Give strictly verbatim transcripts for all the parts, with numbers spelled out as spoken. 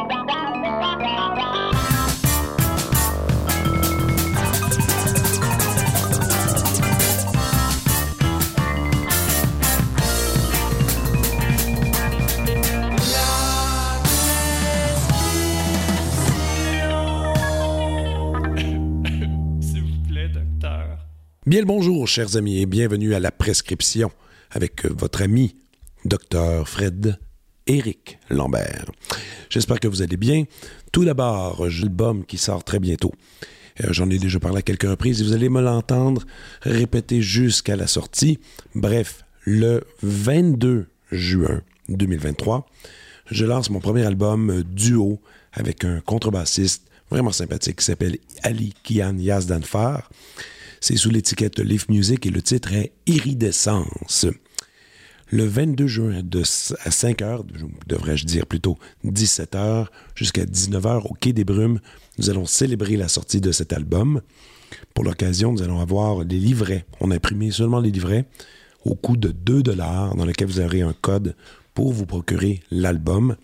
Bien le bonjour, chers amis, et bienvenue à La Prescription avec votre ami, Docteur Fred Éric Lambert. J'espère que vous allez bien. Tout d'abord, j'ai l'album qui sort très bientôt. Euh, j'en ai déjà parlé à quelques reprises et vous allez me l'entendre répéter jusqu'à la sortie. Bref, le vingt-deux juin deux mille vingt-trois, je lance mon premier album duo avec un contrebassiste vraiment sympathique qui s'appelle Ali Kian Yazdanfar. C'est sous l'étiquette Leaf Music et le titre est Iridescence. Le vingt-deux juin de, à cinq heures, devrais-je dire plutôt dix-sept heures, jusqu'à dix-neuf heures au Quai des Brumes, nous allons célébrer la sortie de cet album. Pour l'occasion, nous allons avoir les livrets. On a imprimé seulement les livrets au coût de deux dollars dans lequel vous aurez un code pour vous procurer l'album.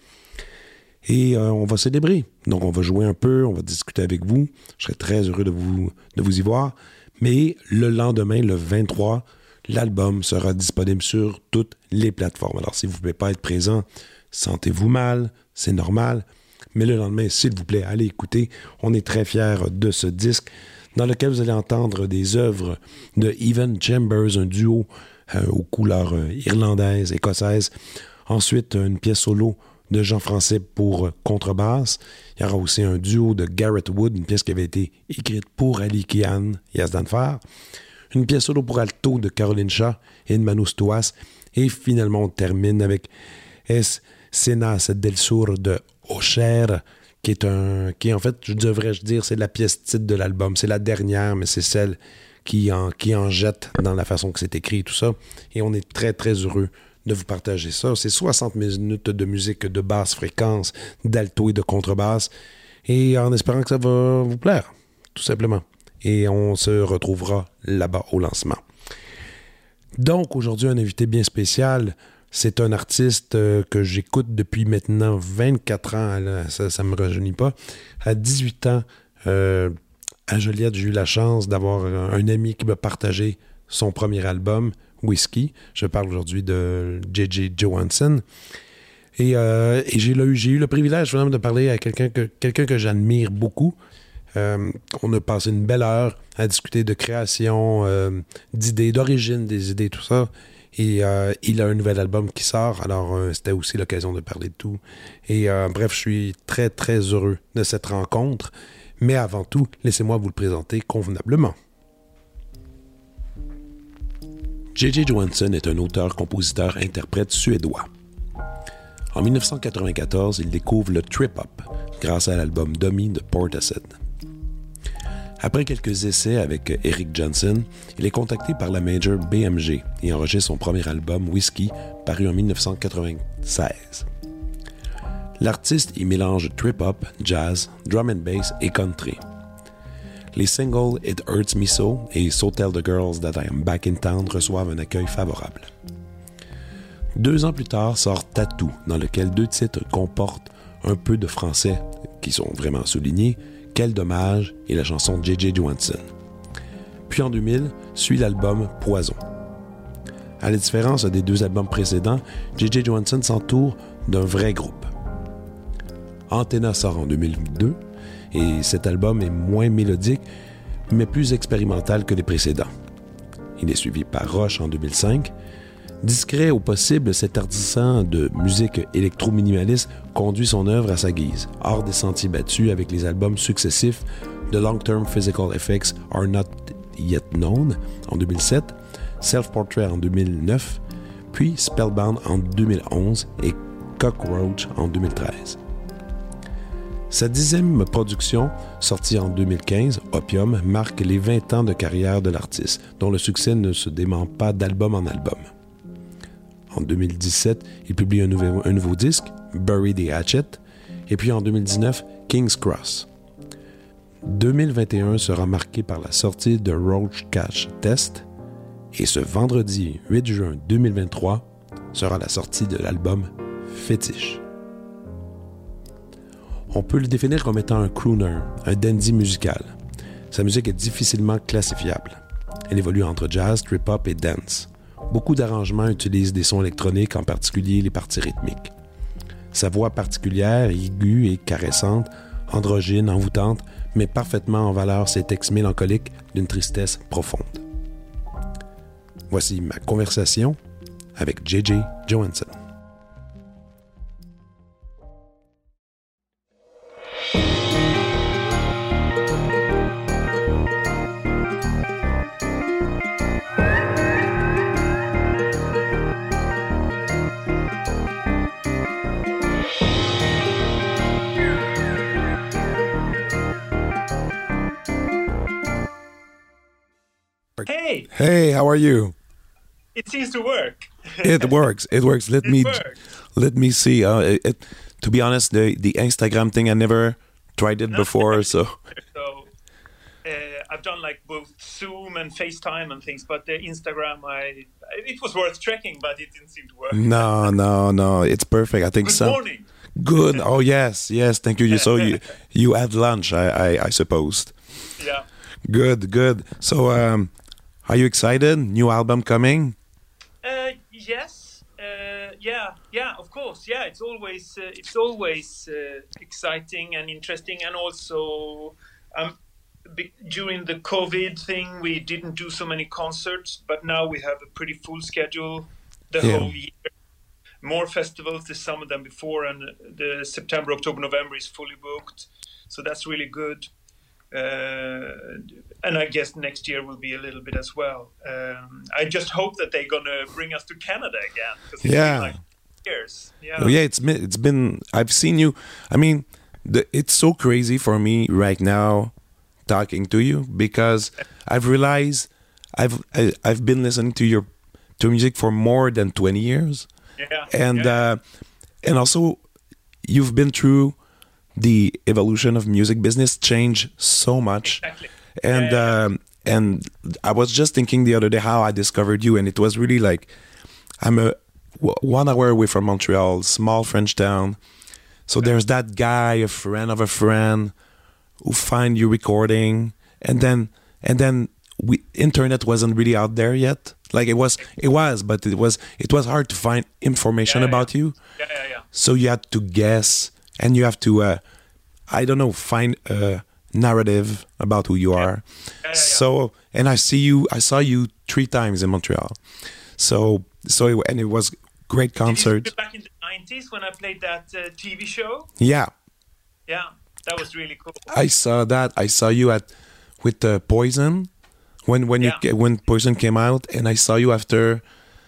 Et euh, on va célébrer. Donc, on va jouer un peu, on va discuter avec vous. Je serais très heureux de vous, de vous y voir. Mais le lendemain, le vingt-trois, l'album sera disponible sur toutes les plateformes. Alors, si vous ne pouvez pas être présent, sentez-vous mal, c'est normal. Mais le lendemain, s'il vous plaît, allez écouter. On est très fiers de ce disque dans lequel vous allez entendre des œuvres de Evan Chambers, un duo euh, aux couleurs euh, irlandaises, écossaises. Ensuite, une pièce solo de Jean Français pour contrebasse. Il y aura aussi un duo de Garrett Wood, une pièce qui avait été écrite pour Ali Kian Yazdanfar. Une pièce solo pour alto de Caroline Shaw et de Manu Stouas. Et finalement, on termine avec Es Cenas del Sur de Ocher, qui est un, qui en fait, je devrais-je dire, c'est la pièce titre de l'album. C'est la dernière, mais c'est celle qui en, qui en jette dans la façon que c'est écrit et tout ça. Et on est très, très heureux de vous partager ça. C'est soixante minutes de musique de basse fréquence, d'alto et de contrebasse, et en espérant que ça va vous plaire, tout simplement. Et on se retrouvera là-bas au lancement. Donc, aujourd'hui, un invité bien spécial. C'est un artiste euh, que j'écoute depuis maintenant vingt-quatre ans, là, ça ne me rajeunit pas. À dix-huit ans, euh, à Joliette, j'ai eu la chance d'avoir un, un ami qui m'a partagé son premier album, Whiskey. Je parle aujourd'hui de J J Johansson. Et, euh, et j'ai, eu, j'ai eu le privilège vraiment de parler à quelqu'un que, quelqu'un que j'admire beaucoup. Euh, on a passé une belle heure à discuter de création, euh, d'idées, d'origine des idées, tout ça. Et euh, il a un nouvel album qui sort, alors euh, c'était aussi l'occasion de parler de tout. Et euh, bref, je suis très, très heureux de cette rencontre. Mais avant tout, laissez-moi vous le présenter convenablement. J J Johansson est un auteur-compositeur-interprète suédois. En dix-neuf cent quatre-vingt-quatorze, il découvre le trip-hop grâce à l'album Dummy de Portishead. Après quelques essais avec Eric Johnson, il est contacté par la major B M G et enregistre son premier album Whiskey, paru en dix-neuf cent quatre-vingt-seize. L'artiste y mélange trip-hop, jazz, drum and bass et country. Les singles It Hurts Me So et So Tell the Girls That I Am Back in Town reçoivent un accueil favorable. Deux ans plus tard sort Tattoo, dans lequel deux titres comportent un peu de français qui sont vraiment soulignés, Quel dommage et la chanson J J Johansson. Puis en deux mille, suit l'album Poison. À la différence des deux albums précédents, J J Johansson s'entoure d'un vrai groupe. Antenna sort en deux mille deux, et cet album est moins mélodique, mais plus expérimental que les précédents. Il est suivi par Rush en deux mille cinq. Discret au possible, cet artisan de musique électro-minimaliste conduit son œuvre à sa guise, hors des sentiers battus avec les albums successifs The Long-Term Physical Effects Are Not Yet Known en deux mille sept, Self-Portrait en deux mille neuf, puis Spellbound en deux mille onze et Cockroach en deux mille treize. Sa dixième production, sortie en deux mille quinze, Opium, marque les vingt ans de carrière de l'artiste, dont le succès ne se dément pas d'album en album. En deux mille dix-sept, il publie un nouveau, un nouveau disque, Bury the Hatchet, et puis en deux mille dix-neuf, King's Cross. deux mille vingt et un sera marqué par la sortie de Roach Catch Test, et ce vendredi huit juin deux mille vingt-trois sera la sortie de l'album Fétiche. On peut le définir comme étant un crooner, un dandy musical. Sa musique est difficilement classifiable. Elle évolue entre jazz, trip-hop et dance. Beaucoup d'arrangements utilisent des sons électroniques, en particulier les parties rythmiques. Sa voix particulière, aiguë et caressante, androgyne, envoûtante, met parfaitement en valeur ses textes mélancoliques d'une tristesse profonde. Voici ma conversation avec J J Johansson. Hey! Hey, how are you? It seems to work. It works. It works. Let it me works. let me see. Uh, it, it, to be honest, the the Instagram thing I never tried it No, before. So So uh, I've done like both Zoom and FaceTime and things, but the Instagram, I it was worth checking, but it didn't seem to work. no, no, no. It's perfect. I think Good so. morning. Good. Oh yes, yes. Thank you. You so you you had lunch. I I, I supposed. Yeah. Good, good. So um, are you excited? New album coming? Uh, yes. Uh, yeah. Yeah. Of course. Yeah. It's always uh, it's always uh, exciting and interesting, and also um, be- during the COVID thing, we didn't do so many concerts, but now we have a pretty full schedule the Yeah. whole year. More festivals this summer than before, and the September, October, November is fully booked, so that's really good. Uh, and I guess next year will be a little bit as well. Um, I just hope that they're gonna bring us to Canada again, because it's Yeah. been like years. Yeah, Oh, yeah, it's been, it's been. I've seen you. I mean, the, it's so crazy for me right now talking to you because I've realized I've I, I've been listening to your to music for more than twenty years, yeah, and yeah. uh, and also you've been through the evolution of music business, change so much, Exactly. and Yeah, yeah, um, and I was just thinking the other day how I discovered you, and it was really like I'm a w- one hour away from Montreal, small French town. So there's that guy, a friend of a friend, who find you recording, and then and then we internet wasn't really out there yet. Like it was, it was, but it was it was hard to find information Yeah, yeah, about you. yeah, yeah, yeah. So you had to guess, and you have to, uh, I don't know, find a narrative about who you are. Yeah, yeah, yeah. So, and I see you, I saw you three times in Montreal. So, so, it, and it was great Did you concert. see back in the nineties when I played that uh, T V show? Yeah, Yeah, that was really cool. I saw that. I saw you at with the Poison when when you Yeah. when Poison came out, and I saw you after.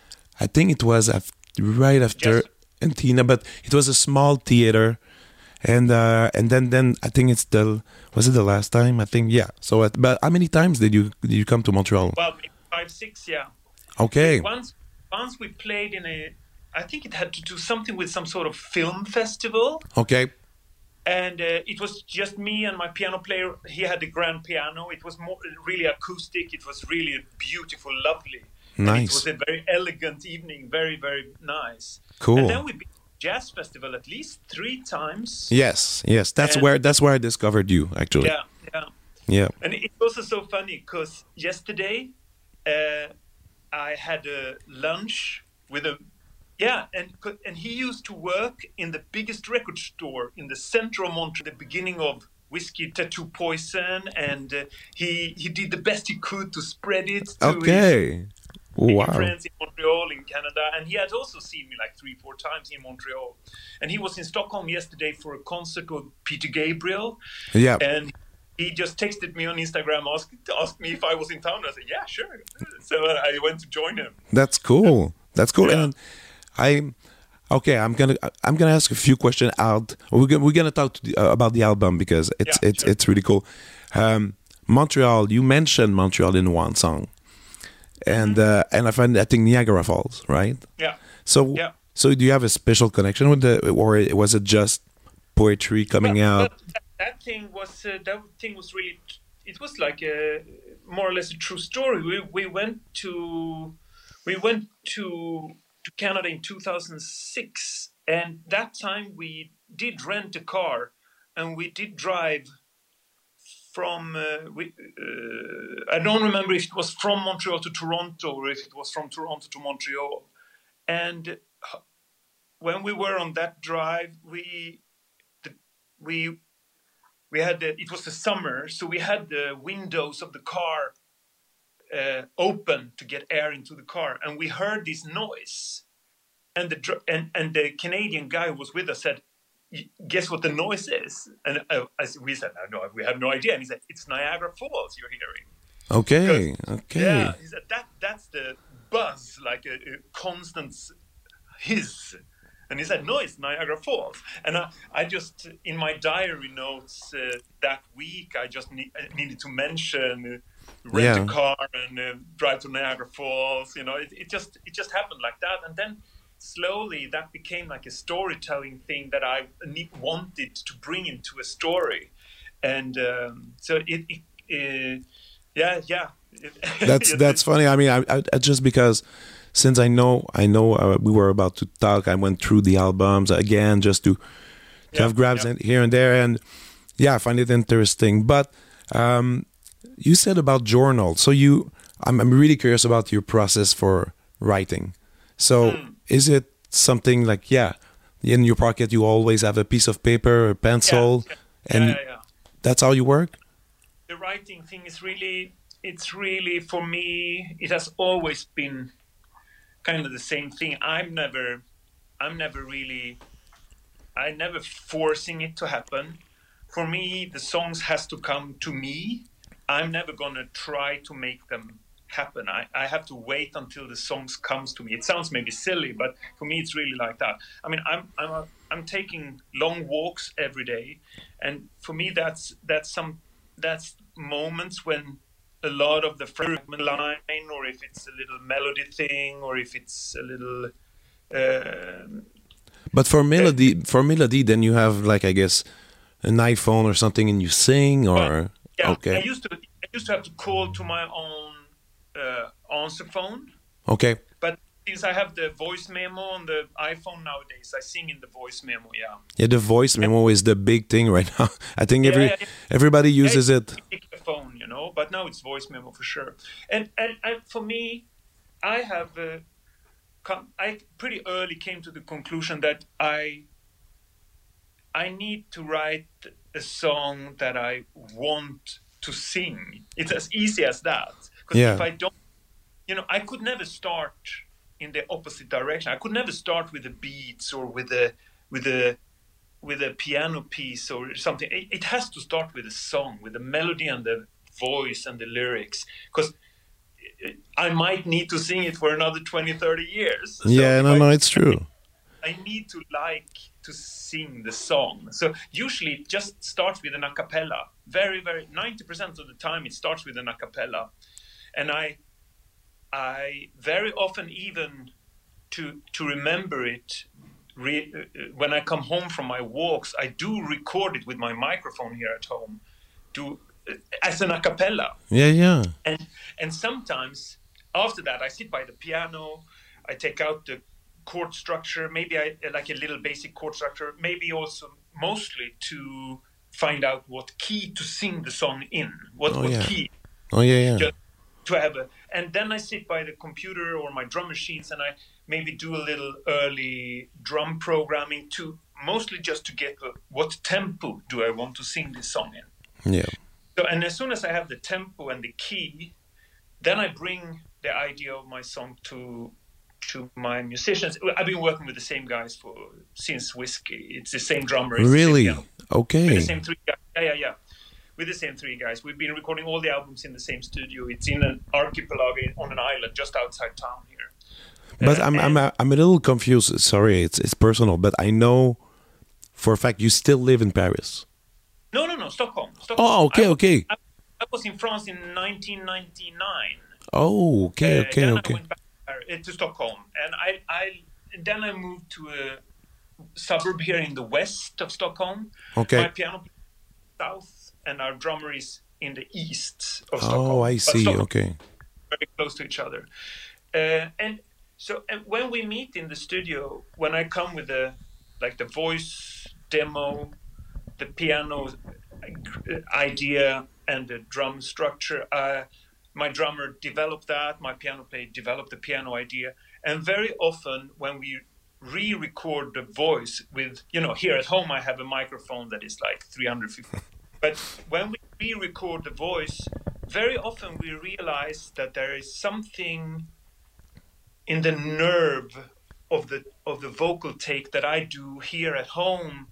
I think it was af- right after Yes. Antina, but it was a small theater, and uh, and then then I think it's the was it the last time? I think yeah. So, at, but how many times did you did you come to Montreal? Well, maybe five, six, yeah. Okay, Once, once we played in a, I think it had to do something with some sort of film festival, okay, and uh, it was just me and my piano player. He had the grand piano. It was more really acoustic. It was really beautiful, lovely. And it nice, was a very elegant evening, very, very nice. cool. And then we been to jazz festival at least three times. Yes, yes, that's And- where that's where I discovered you actually. Yeah, yeah. Yeah. And it's also so funny because yesterday uh, I had a lunch with a yeah, and co- and he used to work in the biggest record store in the center of Montreal, the beginning of Whiskey Tattoo Poison, and uh, he he did the best he could to spread it to his Okay. Wow. friends in Montreal, in Canada, and he had also seen me like three, four times in Montreal. And he was in Stockholm yesterday for a concert with Peter Gabriel, Yeah. and he just texted me on Instagram, asked asked me if I was in town. I said, "Yeah, sure." So I went to join him. That's cool. That's cool. Yeah. And I, okay, I'm gonna I'm gonna ask a few questions out. We're gonna we're gonna talk to the, uh, about the album because it's Yeah, it's sure. it's really cool. Um, Montreal, you mentioned Montreal in one song, and uh, and I find I think Niagara Falls, right? Yeah. So Yeah. so do you have a special connection with the, or was it just poetry coming Well, out? well, that, that thing was uh, that thing was really. It was like a more or less a true story. We we went to we went to to Canada in two thousand six, and that time we did rent a car and we did drive from, uh, we, uh, I don't remember if it was from Montreal to Toronto or if it was from Toronto to Montreal. And when we were on that drive, we, the, we, we had, the, it was the summer, so we had the windows of the car uh, open to get air into the car. And we heard this noise. And the, and, and the Canadian guy who was with us said, guess what the noise is? And uh, as we said, no, no, we have no idea. And he said, it's Niagara Falls you're hearing. Okay, because, okay. Yeah, he said, that, that's the buzz, like a, a constant hiss. And he said, no, it's Niagara Falls. And I, I just, in my diary notes uh, that week, I just ne- needed to mention uh, rent yeah. a car and uh, drive to Niagara Falls. You know, it, it just it just happened like that. And then slowly that became like a storytelling thing that I wanted to bring into a story. And um, so it, it uh, yeah, yeah. That's that's funny. I mean, I, I, I just because since I know I know uh, we were about to talk, I went through the albums again just to to yeah, have grabs yeah. in, here and there, and yeah, I find it interesting. But um, you said about journal, so you, I'm, I'm really curious about your process for writing. So Mm. is it something like yeah, in your pocket you always have a piece of paper, a pencil, yeah, and yeah, yeah, yeah. that's how you work? The writing thing is really, it's really, for me, it has always been kind of the same thing. I'm never, I'm never really, I never forcing it to happen. For me, the songs has to come to me. I'm never gonna try to make them happen. I, I have to wait until the songs comes to me. It sounds maybe silly, but for me, it's really like that. I mean, I'm, I'm, a, I'm taking long walks every day. And for me, that's, that's some, that's moments when a lot of the fragment line, or if it's a little melody thing, or if it's a little. Uh, but for melody, uh, for melody, then you have like I guess an iPhone or something, and you sing, or well, yeah. okay. I used to, I used to have to call to my own uh, answer phone. Okay. But since I have the voice memo on the iPhone nowadays, I sing in the voice memo. Yeah. Yeah, the voice memo is the big thing right now. I think every yeah, yeah. everybody uses yeah, it. The phone, you know, but now it's voice memo for sure. And and, and for me, I have, uh, come, I pretty early came to the conclusion that I, I need to write a song that I want to sing. It's as easy as that. Because yeah. if I don't, you know, I could never start in the opposite direction. I could never start with the beats or with the with the with a piano piece or something. It, it has to start with a song, with the melody and the voice and the lyrics, because I might need to sing it for another twenty, thirty years. So yeah, no, I, no, it's true. I need to like to sing the song. So usually it just starts with an a cappella. Very, very, ninety percent of the time it starts with an a cappella. And I, I very often even to, to remember it, Re, uh, when I come home from my walks, I do record it with my microphone here at home, do uh, as an a cappella. Yeah, yeah. And and sometimes after that, I sit by the piano, I take out the chord structure, maybe I like a little basic chord structure, maybe also mostly to find out what key to sing the song in, what, oh, what yeah. key. Oh yeah, yeah. Just to have a, and then I sit by the computer or my drum machines and I maybe do a little early drum programming to mostly just to get a, what tempo do I want to sing this song in. Yeah. So, and as soon as I have the tempo and the key, then I bring the idea of my song to to my musicians. I've been working with the same guys for since Whiskey. It's the same drummer. It's really? The same, okay. With the same three guys. Yeah, yeah, yeah. With the same three guys. We've been recording all the albums in the same studio. It's in an archipelago on an island just outside town here. But uh, I'm I'm a, I'm a little confused. Sorry, it's it's personal, but I know for a fact you still live in Paris. No, no, no, Stockholm. Stockholm. Oh, okay, I, okay. I, I was in France in nineteen ninety-nine. Oh, okay, uh, okay, then okay. I went back to Stockholm, and I, I, then I moved to a suburb here in the west of Stockholm. Okay. My piano plays south, and our drummer is in the east of oh, Stockholm. Oh, I see. Okay. Very close to each other, uh, and so and when we meet in the studio, when I come with the like the voice demo, the piano idea and the drum structure. Uh, my drummer developed that. My piano player developed the piano idea. And very often when we re-record the voice with, you know, here at home I have a microphone that is like three hundred fifty. But when we re-record the voice, very often we realize that there is something in the nerve of the of the vocal take that I do here at home,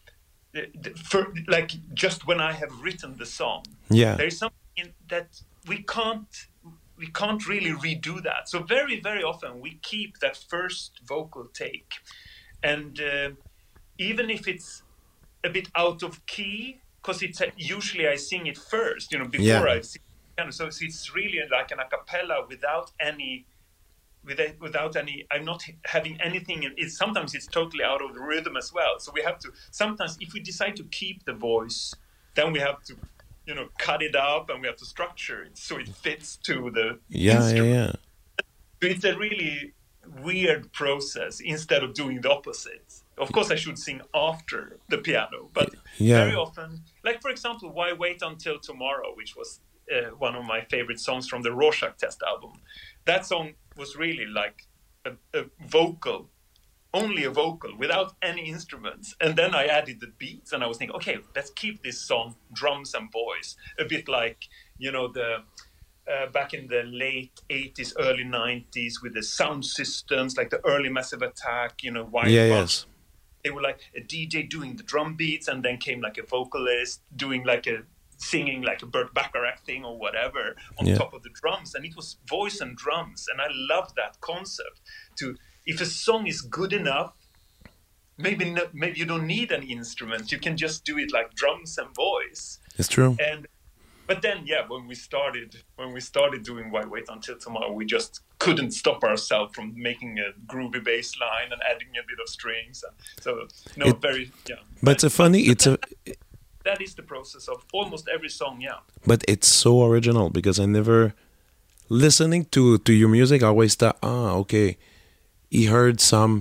for, like just when I have written the song. Yeah. There is something that we can't we can't really redo that. So very, very often we keep that first vocal take. And uh, even if it's a bit out of key, because it's uh, usually I sing it first, you know, before Yeah. I sing it. So it's really like an a cappella without any, without, without any, I'm not having anything. It's, sometimes it's totally out of the rhythm as well. So we have to, sometimes if we decide to keep the voice, then we have to, you know, cut it up and we have to structure it so it fits to the Yeah, instrument. yeah, yeah. So it's a really weird process instead of doing the opposite. Of course, I should sing after the piano, but Yeah. very often, like for example, Why Wait Until Tomorrow, which was uh, one of my favorite songs from the Rorschach Test album. That song was really like a, a vocal, only a vocal without any instruments. And then I added the beats and I was thinking, okay, let's keep this song drums and voice, a bit like, you know, the uh, back in the late eighties, early nineties with the sound systems, like the early Massive Attack, you know, Wild Yeah, Bunch. yes. They were like a D J doing the drum beats, and then came like a vocalist doing like a singing like a Burt Bacharach thing or whatever on Yeah. top of the drums, and it was voice and drums, and I love that concept. To if a song is good enough, maybe not, maybe you don't need an instrument, you can just do it like drums and voice. It's true. And but then yeah, when we started when we started doing Why Wait Until Tomorrow, we just couldn't stop ourselves from making a groovy bass line and adding a bit of strings, and so no It- very yeah But it's a funny, it's a, that is the process of almost every song. Yeah. but it's so original because I never, listening to, to your music, I always thought, ah, okay, he heard some,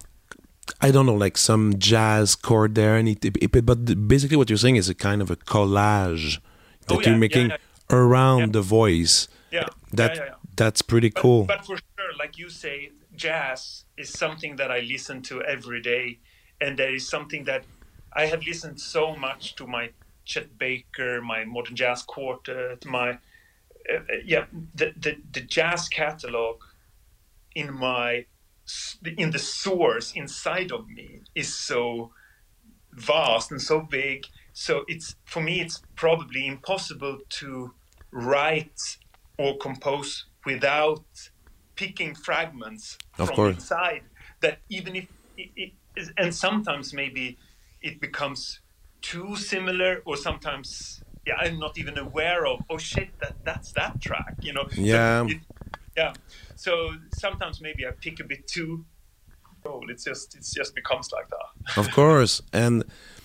I don't know, like some jazz chord there, and it, it, but basically what you're saying is a kind of a collage that Oh, yeah, you're making yeah, around Yeah. the voice. Yeah, That yeah, yeah, yeah. That's pretty But, cool. but for sure, like you say, jazz is something that I listen to every day, and there is something that I have listened so much to my Chet Baker, my Modern Jazz Quartet, my uh, uh, yeah, the, the the jazz catalog in my s- in the source inside of me is so vast and so big. So it's for me, it's probably impossible to write or compose without picking fragments Of from course. inside. That even if it, it is, and sometimes maybe it becomes too similar, or sometimes yeah, I'm not even aware of. Oh shit, that that's that track, you know. So Yeah. it- yeah. So sometimes maybe I pick a bit too. Oh, it's just it just becomes like that. Of course. And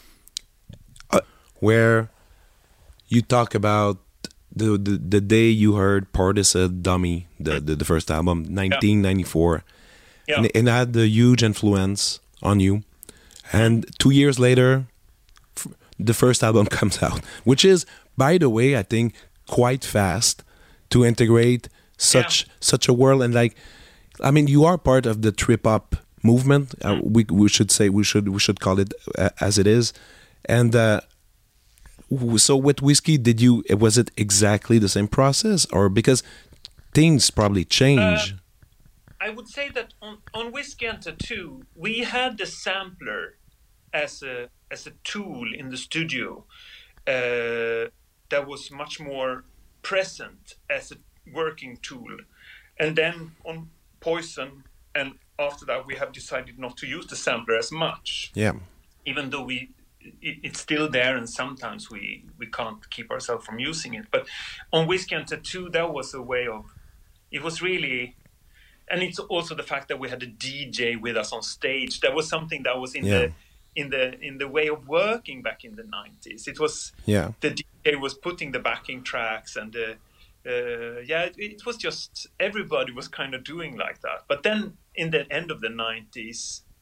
uh, where you talk about the, the the day you heard Portishead Dummy, the, the the first album, nineteen ninety-four, Yeah. and, and it had a huge influence on you. And two years later, f- the first album comes out, which is, by the way, I think quite fast to integrate such such a world. And like, I mean, you are part of the trip hop movement. Uh, we we should say we should we should call it uh, as it is. And uh, w- so with Whiskey, did you was it exactly the same process, or because things probably change? I would say that on, on Whiskey and Tattoo, we had the sampler as a as a tool in the studio uh, that was much more present as a working tool. And then on Poison, and after that, we have decided not to use the sampler as much, Yeah, even though we it, it's still there, and sometimes we we can't keep ourselves from using it. But on Whiskey and Tattoo, that was a way of, it was really, and it's also the fact that we had a D J with us on stage. That was something that was in Yeah. the in the in the way of working back in the nineties. It was yeah, the D J was putting the backing tracks, and the uh, yeah, it, it was just everybody was kind of doing like that. But then in the end of the nineties,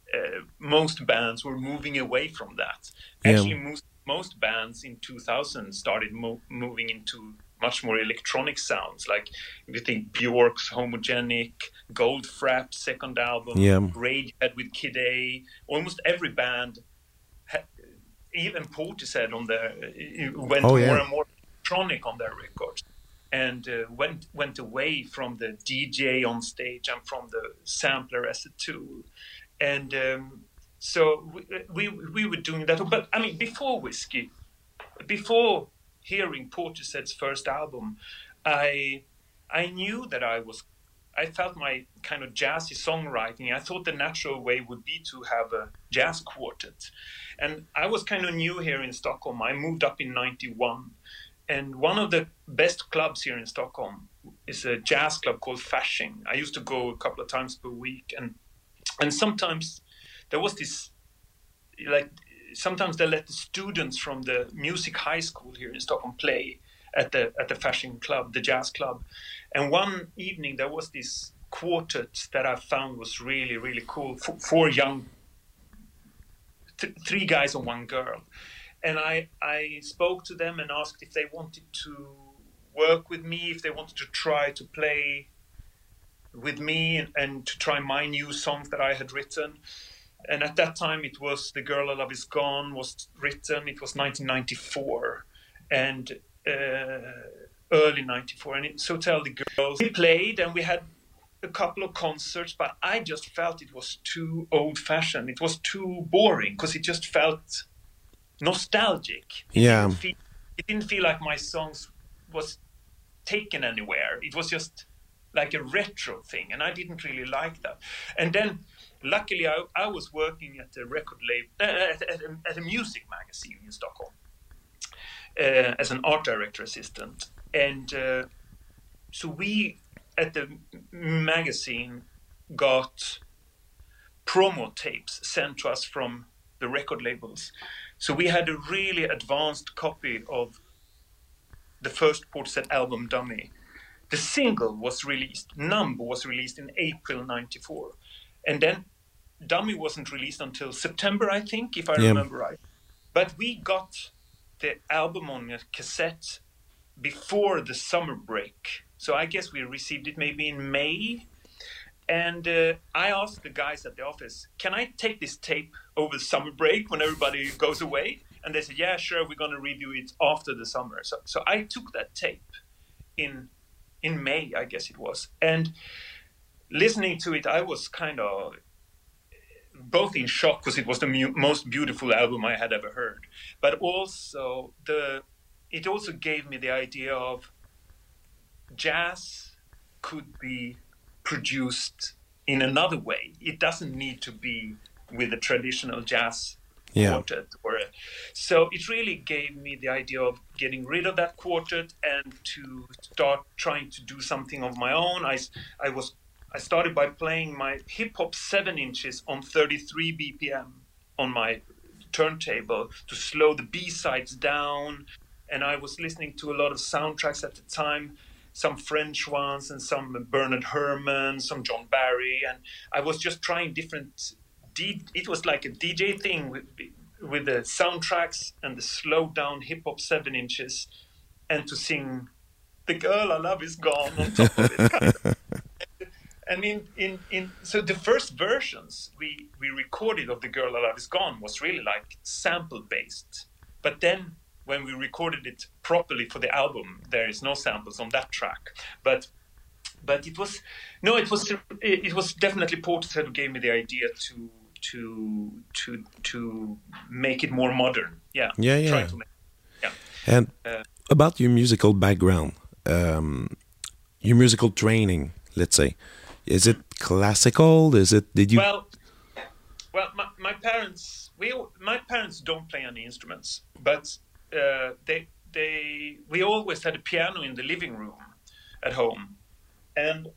uh, most bands were moving away from that. Yeah. Actually, most most bands in two thousand started mo- moving into much more electronic sounds. Like if you think Bjork's Homogenic, Goldfrapp second album, Yeah. Radiohead with Kid A, almost every band, ha- even Portishead on the uh, went Oh, more yeah. and more electronic on their records, and uh, went went away from the D J on stage and from the sampler as a tool. And um, so we, we we were doing that. But I mean, before Whiskey, before hearing Portishead's first album, I I knew that I was, I felt my kind of jazzy songwriting. I thought the natural way would be to have a jazz quartet. And I was kind of new here in Stockholm. I moved up in ninety-one. And one of the best clubs here in Stockholm is a jazz club called Fasching. I used to go a couple of times per week. And and sometimes there was this, like, sometimes they let the students from the music high school here in Stockholm play at the at the Fasching club, the jazz club. And one evening there was this quartet that I found was really, really cool. F- four young, th- three guys and one girl. And I, I spoke to them and asked if they wanted to work with me, if they wanted to try to play with me and, and to try my new songs that I had written. And at that time it was The Girl I Love Is Gone was written. It was nineteen ninety-four and uh, early ninety-four. And it's Hotel the Girls. We played and we had a couple of concerts, but I just felt it was too old-fashioned. It was too boring because it just felt nostalgic. It Yeah. Didn't feel, it didn't feel like my songs was taken anywhere. It was just like a retro thing, and I didn't really like that. And then, luckily, I, I was working at a record label, uh, at, at, a, at a music magazine in Stockholm uh, as an art director assistant. And uh, so we, at the magazine, got promo tapes sent to us from the record labels. So we had a really advanced copy of the first Portishead album, Dummy. The single was released, Numb was released in April ninety-four. And then Dummy wasn't released until September, I think, if I Yeah. remember right. But we got the album on a cassette before the summer break. So I guess we received it maybe in May. And uh, I asked the guys at the office, can I take this tape over the summer break when everybody goes away? And they said, yeah, sure, we're going to review it after the summer. So, so I took that tape in in May, I guess it was. And listening to it, I was kind of both in shock because it was the mu- most beautiful album I had ever heard. But also, the it also gave me the idea of jazz could be produced in another way. It doesn't need to be with a traditional jazz Yeah. quartet. Or a, so it really gave me the idea of getting rid of that quartet and to start trying to do something of my own. I, I was I started by playing my hip hop seven inches on thirty-three B P M on my turntable to slow the B-sides down. And I was listening to a lot of soundtracks at the time, some French ones and some Bernard Herrmann, some John Barry. And I was just trying different, D- it was like a D J thing with, with the soundtracks and the slowed down hip hop seven inches and to sing The Girl I Love Is Gone on top of it. And in, in, in so the first versions we, we recorded of The Girl I Love Is Gone was really like sample based. But then when we recorded it properly for the album, there is no samples on that track. But but it was no, it was it was definitely Portishead who gave me the idea to to to to make it more modern. Yeah. Yeah, yeah. Try to make, yeah. And Uh, about your musical background, um, your musical training, let's say, is it classical? Is it? Did you? Well, well, my, my parents, we all- my parents don't play any instruments, but uh, they they we always had a piano in the living room at home, and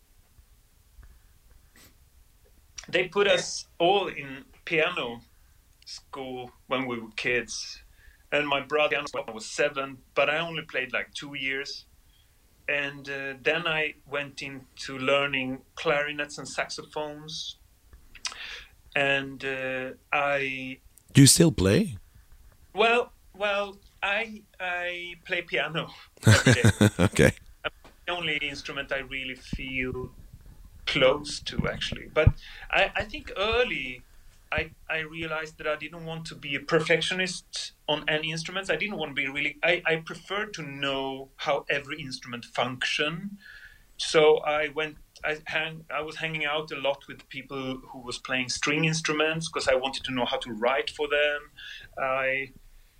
they put us all in piano school when we were kids. And my brother was seven, but I only played like two years. And uh, then I went into learning clarinets and saxophones. and uh, I Do you still play? well, well, I I play piano every day. Okay. The only instrument I really feel close to, actually. But I, I think early I I realized that I didn't want to be a perfectionist on any instruments. I didn't want to be really. I I preferred to know how every instrument function. So I went. I hang. I was hanging out a lot with people who was playing string instruments because I wanted to know how to write for them. I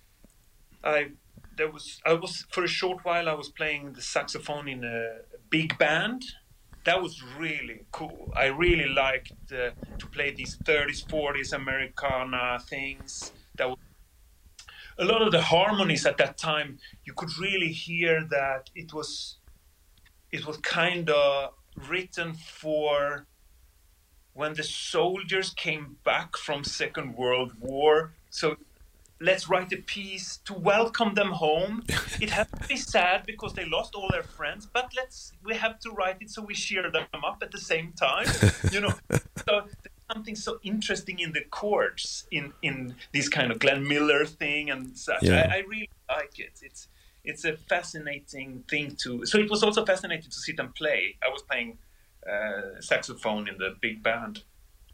I there was I was for a short while I was playing the saxophone in a big band. That was really cool. I really liked uh, to play these thirties, forties Americana things. That was a lot of the harmonies at that time. You could really hear that it was it was kind of written for when the soldiers came back from Second World War. So let's write a piece to welcome them home. It has to be sad because they lost all their friends, but let's we have to write it so we cheer them up at the same time. You know, so there's something so interesting in the chords in in this kind of Glenn Miller thing and such. Yeah. I, I really like it. It's it's a fascinating thing to. So it was also fascinating to sit and play. I was playing uh, saxophone in the big band.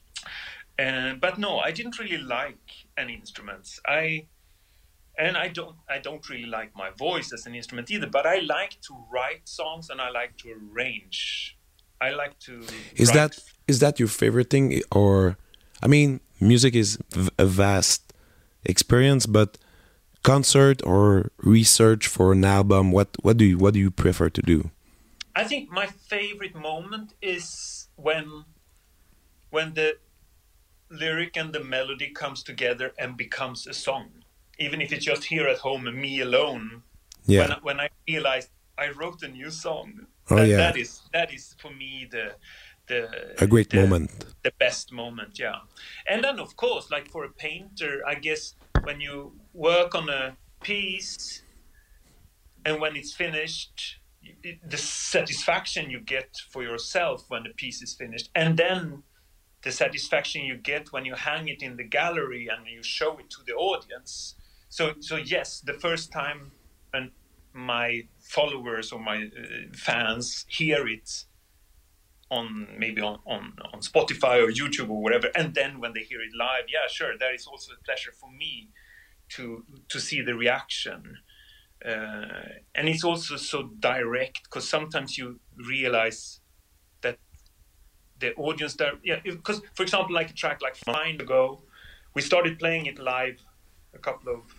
Uh, but no, I didn't really like any instruments. I and I don't I don't really like my voice as an instrument either. But I like to write songs and I like to arrange. I like to. Is write. that is that your favorite thing? Or, I mean, music is v- a vast experience, but concert or research for an album, what what do you what do you prefer to do? I think my favorite moment is when when the lyric and the melody comes together and becomes a song, even if it's just here at home and me alone. Yeah. When when I realized I wrote a new song, Oh, that, yeah. that is that is for me the the A great the, moment. the best moment, yeah. And then of course, like for a painter, I guess when you work on a piece and when it's finished, it, the satisfaction you get for yourself when the piece is finished, and then the satisfaction you get when you hang it in the gallery and you show it to the audience. So, so yes, the first time and my followers or my uh, fans hear it on maybe on, on, on Spotify or YouTube or whatever, and then when they hear it live, yeah, sure, that is also a pleasure for me to to see the reaction. Uh, and it's also so direct because sometimes you realize that the audience there, yeah, because for example, like a track like Fine ago, we started playing it live a couple of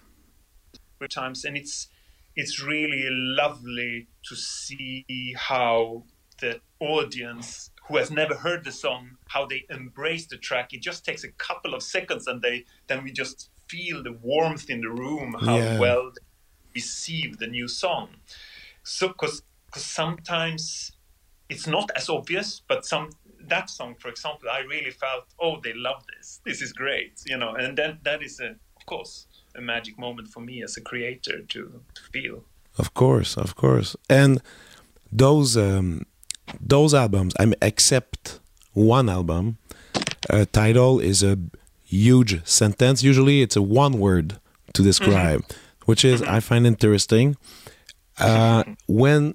times, and it's it's really lovely to see how the audience who has never heard the song, how they embrace the track. It just takes a couple of seconds, and they then we just feel the warmth in the room, how Yeah. well they receive the new song. So, because sometimes it's not as obvious, but some that song, for example, I really felt, oh, they love this. This is great, you know. And then that is, a, of course, a magic moment for me as a creator to, to feel. Of course, of course. And those um, those albums, I mean, except one album, uh, title is a huge sentence. Usually, it's a one word to describe, mm-hmm. which is mm-hmm. I find interesting. Uh, when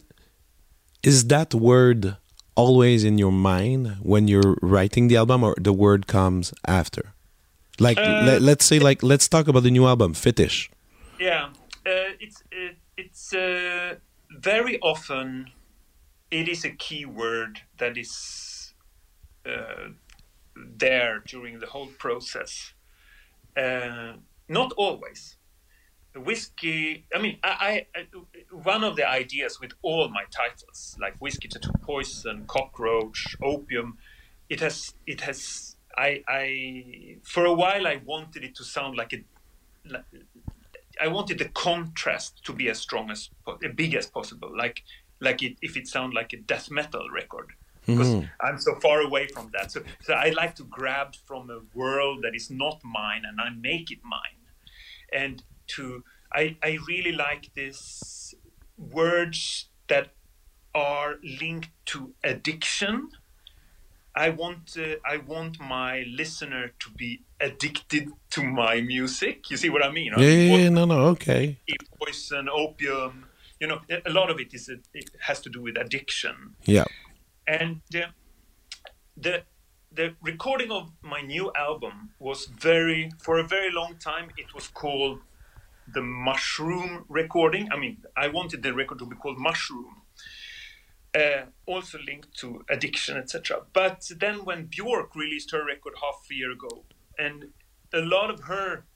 is that word always in your mind when you're writing the album, or the word comes after? Like, uh, let, let's say, like, let's talk about the new album, Fetish. Yeah, uh, it's it, it's uh, very often it is a key word that is uh, there during the whole process. Uh, not always. Whiskey, I mean, I, I, one of the ideas with all my titles, like Whiskey, Tattoo, Poison, Cockroach, Opium, it has, it has, I, I, for a while I wanted it to sound like a, like, I wanted the contrast to be as strong as, as big as possible, like, like it, if it sounded like a death metal record, because mm-hmm. I'm so far away from that. So, so I like to grab from a world that is not mine and I make it mine. And to I, I really like this words that are linked to addiction I want uh, I want my listener to be addicted to my music. You see what I mean? I Yeah, mean, yeah, what yeah, no, no, okay. poison, opium. You know, a lot of it is a, it has to do with addiction. Yeah. And uh, the the recording of my new album was very for a very long time. It was called the Mushroom recording. I mean, I wanted the record to be called Mushroom. Uh, also linked to addiction, et cetera. But then when Björk released her record half a year ago, and a lot of her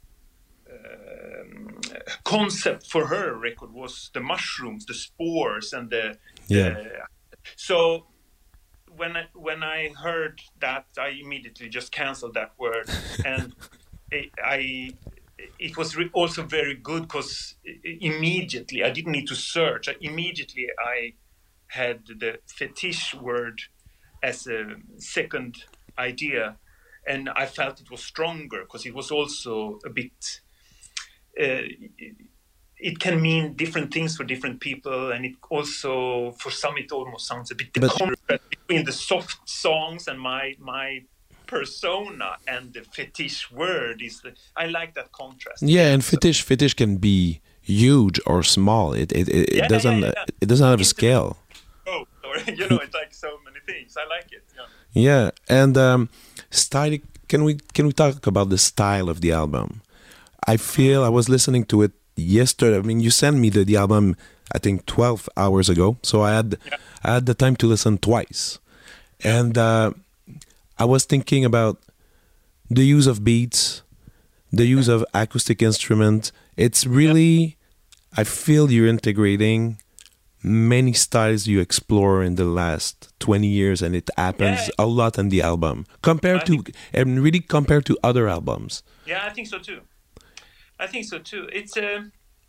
um, concept for her record was the mushrooms, the spores, and the Yeah. uh, so when I, when I heard that, I immediately just canceled that word, and I. I it was re- also very good because immediately I didn't need to search. I, immediately I had the fetish word as a second idea, and I felt it was stronger because it was also a bit uh, it can mean different things for different people, and it also for some it almost sounds a bit the But- contrast between the soft songs and my my persona and the fetish word is the, I like that contrast. Yeah, and fetish fetish can be huge or small. It it, it, Yeah, it doesn't yeah, yeah. it doesn't have a It's- scale. Oh, or you know, it's like so many things. I like it. Yeah. Yeah, and um, style. Can we can we talk about the style of the album? I feel I was listening to it yesterday. I mean, you sent me the, the album, I think twelve hours ago, so I had Yeah. I had the time to listen twice, and uh, I was thinking about the use of beats, the use of acoustic instrument. It's really, I feel you're integrating many styles you explore in the last twenty years, and it happens Yeah. a lot in the album compared I to and really compared to other albums. Yeah, I think so too. I think so too. It's a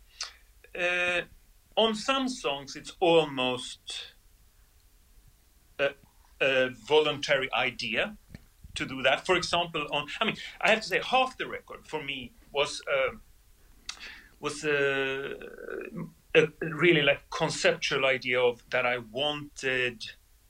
uh, on some songs it's almost a, a voluntary idea to do that. For example, on I mean, I have to say half the record for me was uh, was a, a really like conceptual idea of that I wanted.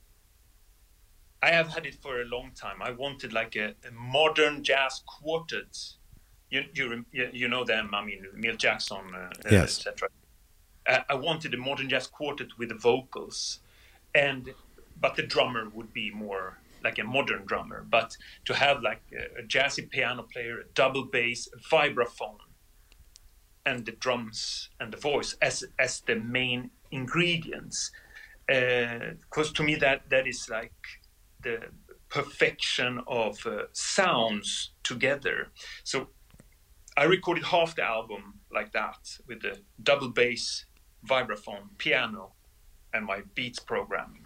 I have had it for a long time. I wanted like a, a modern jazz quartet. You, you you know them. I mean, Milt Jackson, uh, Yes. et cetera. Uh, I wanted a modern jazz quartet with the vocals, and but the drummer would be more like a modern drummer. But to have like a, a jazzy piano player, a double bass, a vibraphone, and the drums and the voice as as the main ingredients, because uh, to me that that is like the perfection of uh, sounds together. So I recorded half the album like that with the double bass, vibraphone, piano, and my beats programming.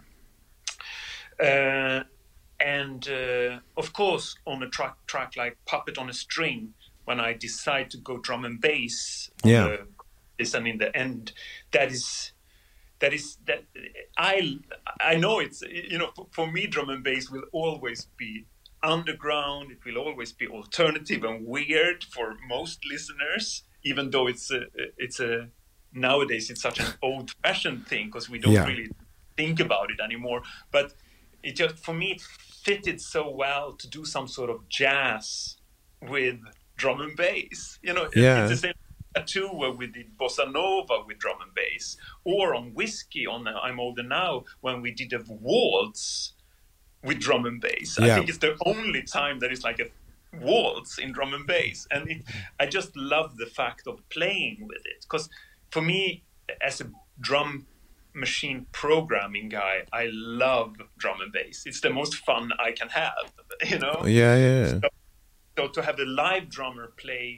Uh, and uh, of course, on a track track like Puppet on a String, when I decide to go drum and bass, on Yeah. the, this and in the end, that is that is that I I know it's you know for, for me drum and bass will always be underground. It will always be alternative and weird for most listeners, even though it's a it's a nowadays it's such an old-fashioned thing because we don't Yeah. really think about it anymore. But it just for me it fitted so well to do some sort of jazz with drum and bass. You know, Yeah. it's the same too where we did bossa nova with drum and bass, or on Whiskey on uh, I'm Older Now when we did a waltz with drum and bass. Yeah. I think it's the only time that it's like a waltz in drum and bass, and it, I just love the fact of playing with it because for me as a drum machine programming guy, I love drum and bass. It's the most fun I can have, you know. Yeah, yeah. So, so to have the live drummer play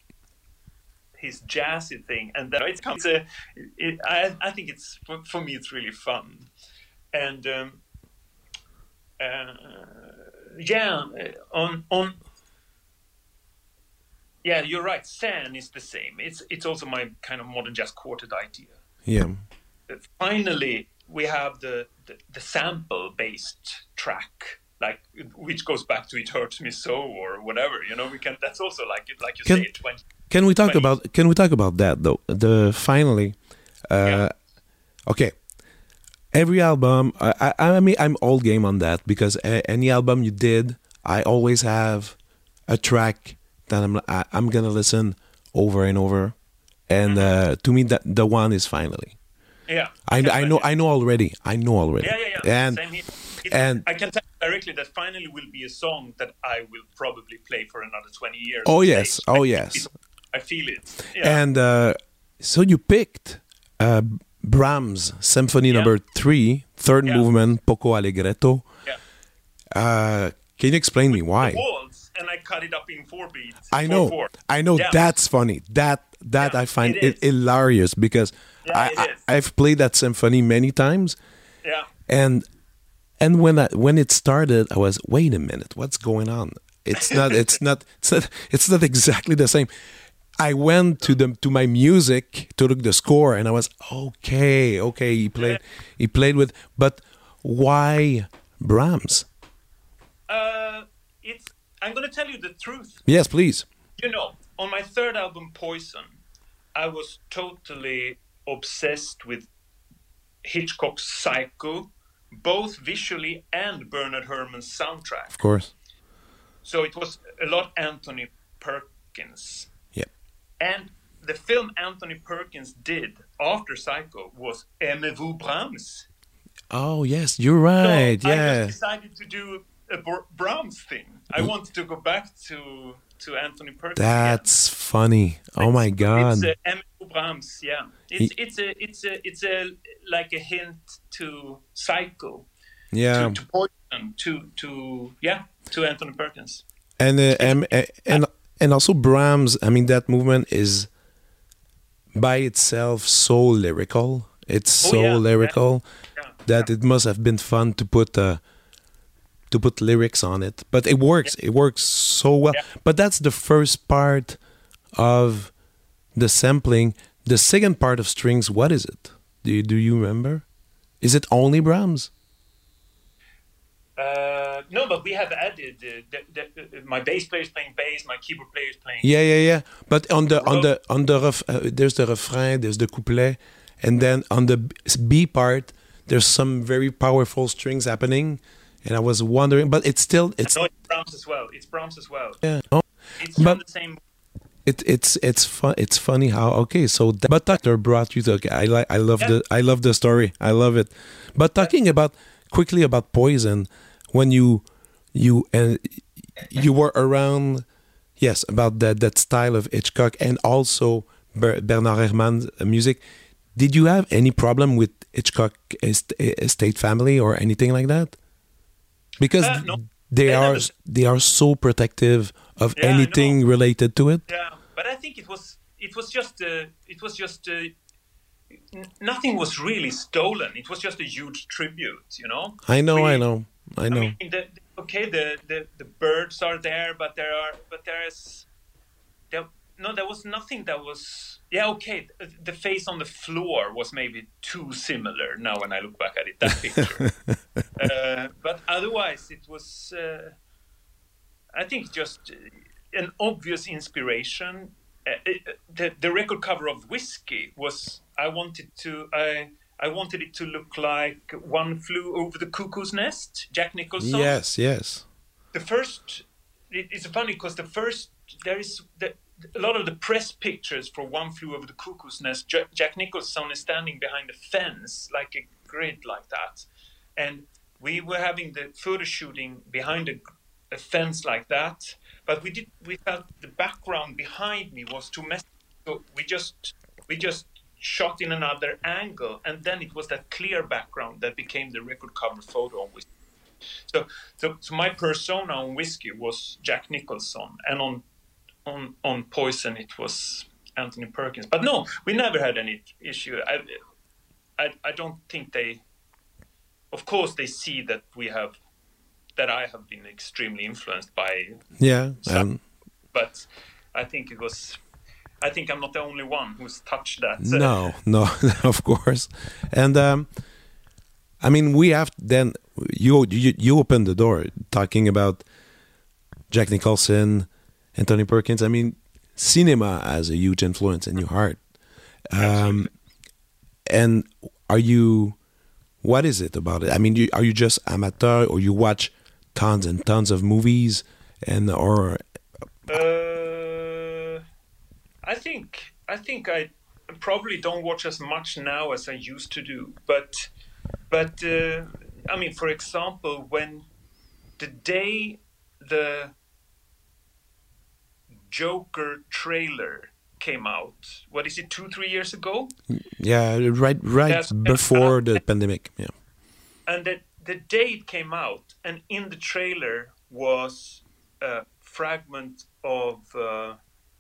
his jazzy thing, and then it comes a, it, I, I think it's for, for me it's really fun, and um, uh, yeah, on on yeah, you're right. Sen is the same. It's it's also my kind of modern jazz quartet idea. Yeah. Finally, we have the the, the sample based track. Like which goes back to "It Hurts Me So" or whatever, you know. We can. That's also like it, like you Can- say, twenty. Can we talk Funny. about Can we talk about that though? The finally, uh, Yeah. okay. Every album, I, I, I mean, I'm all game on that because a, any album you did, I always have a track that I'm I, I'm gonna listen over and over, and Mm-hmm. uh, to me that the one is finally. Yeah, I, can I know imagine. I know already. I know already. Yeah, yeah, yeah. And Same here. It, and I can tell you directly that finally will be a song that I will probably play for another twenty years. oh on yes, stage. oh I, yes. I feel it. Yeah. And uh, so you picked uh, Brahms Symphony Yeah. Number Three, third Yeah. movement, Poco Allegretto. Yeah. Uh, can you explain me why? The waltz, and I cut it up in four beats. I four, know, four. I know. Yeah. That's funny. That that Yeah, I find it it is. hilarious because Yeah, I, it I is. I've played that symphony many times, Yeah. and and when I, when it started, I was wait a minute, what's going on? It's not. It's not. It's not. It's not exactly the same. I went to the to my music to look the score, and I was okay. Okay, he played. He played with, but why Brahms? Uh, it's. I'm gonna tell you the truth. Yes, please. You know, on my third album, Poison, I was totally obsessed with Hitchcock's Psycho, both visually and Bernard Herrmann's soundtrack. Of course. So it was a lot Anthony Perkins. Yep. And the film Anthony Perkins did after Psycho was Aimez-vous Brahms? Oh yes, you're right. So I yeah. just decided to do a Br- Brahms thing. I wanted to go back to to Anthony Perkins. That's funny. Oh my god. It's uh, Aimez-vous Brahms, yeah. It's it's a it's a it's a like a hint to Psycho, Yeah. to, to Poison, to to yeah, to Anthony Perkins. And uh, and and and also Brahms. I mean, that movement is by itself so lyrical. It's Oh, so yeah, lyrical Yeah. that it must have been fun to put uh, to put lyrics on it. But it works. It works so well. Yeah. But that's the first part of the sampling. The second part of strings. What is it? Do you, do you remember? Is it only Brahms? Uh, no, but we have added uh, the, the, uh, my bass player is playing bass, my keyboard player is playing. Yeah, yeah, yeah. But on the on the on the ref, uh, there's the refrain, there's the couplet, and then on the B part, there's some very powerful strings happening. And I was wondering, but it's still it's No, it's Brahms as well. It's Brahms as well. yeah. Oh, It's But- on the same. it it's it's fun. It's funny how okay. So that, but Doctor brought you to. Okay, I like. I love Yeah. the. I love the story. I love it. But talking about quickly about Poison, when you you and you were around, yes, about that that style of Hitchcock and also Ber- Bernard Herrmann's music. Did you have any problem with Hitchcock est- estate family or anything like that? Because Uh, no. they They are never- they are so protective of Yeah, I know. anything related to it. Yeah, but I think it was it was just uh, it was just uh, n- nothing was really stolen. It was just a huge tribute, you know. I know, We- I know, I I know. mean, the, the- okay, the, the the birds are there, but there are but there is there no there was nothing that was yeah okay. The, the face on the floor was maybe too similar now when I look back at it, that picture. uh, but otherwise, it was uh, I think just uh, an obvious inspiration. Uh, uh, the the record cover of Whiskey was I wanted to I. I wanted it to look like One Flew Over the Cuckoo's Nest, Jack Nicholson. Yes, yes. The first, it, it's funny because the first, there is the, a lot of the press pictures for One Flew Over the Cuckoo's Nest. Jack, Jack Nicholson is standing behind a fence, like a grid like that. And we were having the photo shooting behind a, a fence like that. But we did, we felt the background behind me was too messy. So we just, we just, shot in another angle, and then it was that clear background that became the record cover photo on Whiskey. So, so, so my persona on Whiskey was Jack Nicholson, and on on on Poison it was Anthony Perkins. But no, we never had any issue. I, I, I don't think they. Of course, they see that we have, that I have been extremely influenced by. Yeah, some, um, but I think it was. I think I'm not the only one who's touched that. no, no, of course. And um, I mean, we have then you you you opened the door talking about Jack Nicholson, Anthony Perkins. I mean, cinema has a huge influence in your heart. Um, and are you What is it about it? I mean, you, are you just amateur, or you watch tons and tons of movies, and or? Uh, I think I think I probably don't watch as much now as I used to do, but but uh, I mean, for example, when the day the Joker trailer came out, what is it, two three years ago? Yeah, right, right That's, before uh, the pandemic. Yeah, and the the day it came out, and in the trailer was a fragment of uh,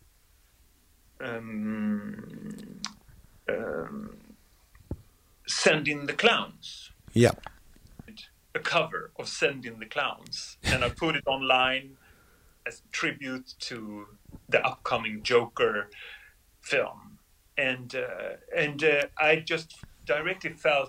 um, um, Send in the Clowns. yeah. A cover of Send in the Clowns, and I put it online as a tribute to the upcoming Joker film, and uh, and uh, I just directly felt,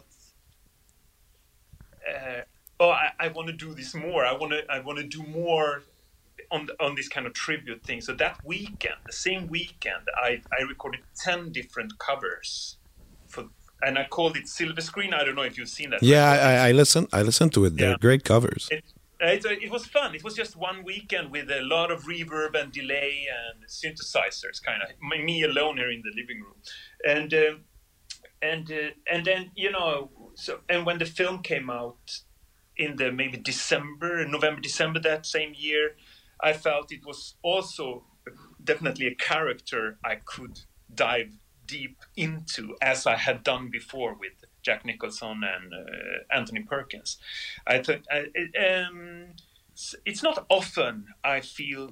uh, oh, I, I want to do this more. I want to I want to do more on the, on this kind of tribute thing. So that weekend, the same weekend, I I recorded ten different covers for. And I called it Silver Screen. I don't know if you've seen that. Yeah, I, I listen. I listened to it. They're Yeah. great covers. It, it, it was fun. It was just one weekend with a lot of reverb and delay and synthesizers, kind of me alone here in the living room, and uh, and uh, and then you know, so and when the film came out in the maybe December, November, December that same year, I felt it was also definitely a character I could dive deep into, as I had done before with Jack Nicholson and uh, Anthony Perkins. I thought I, um, it's not often I feel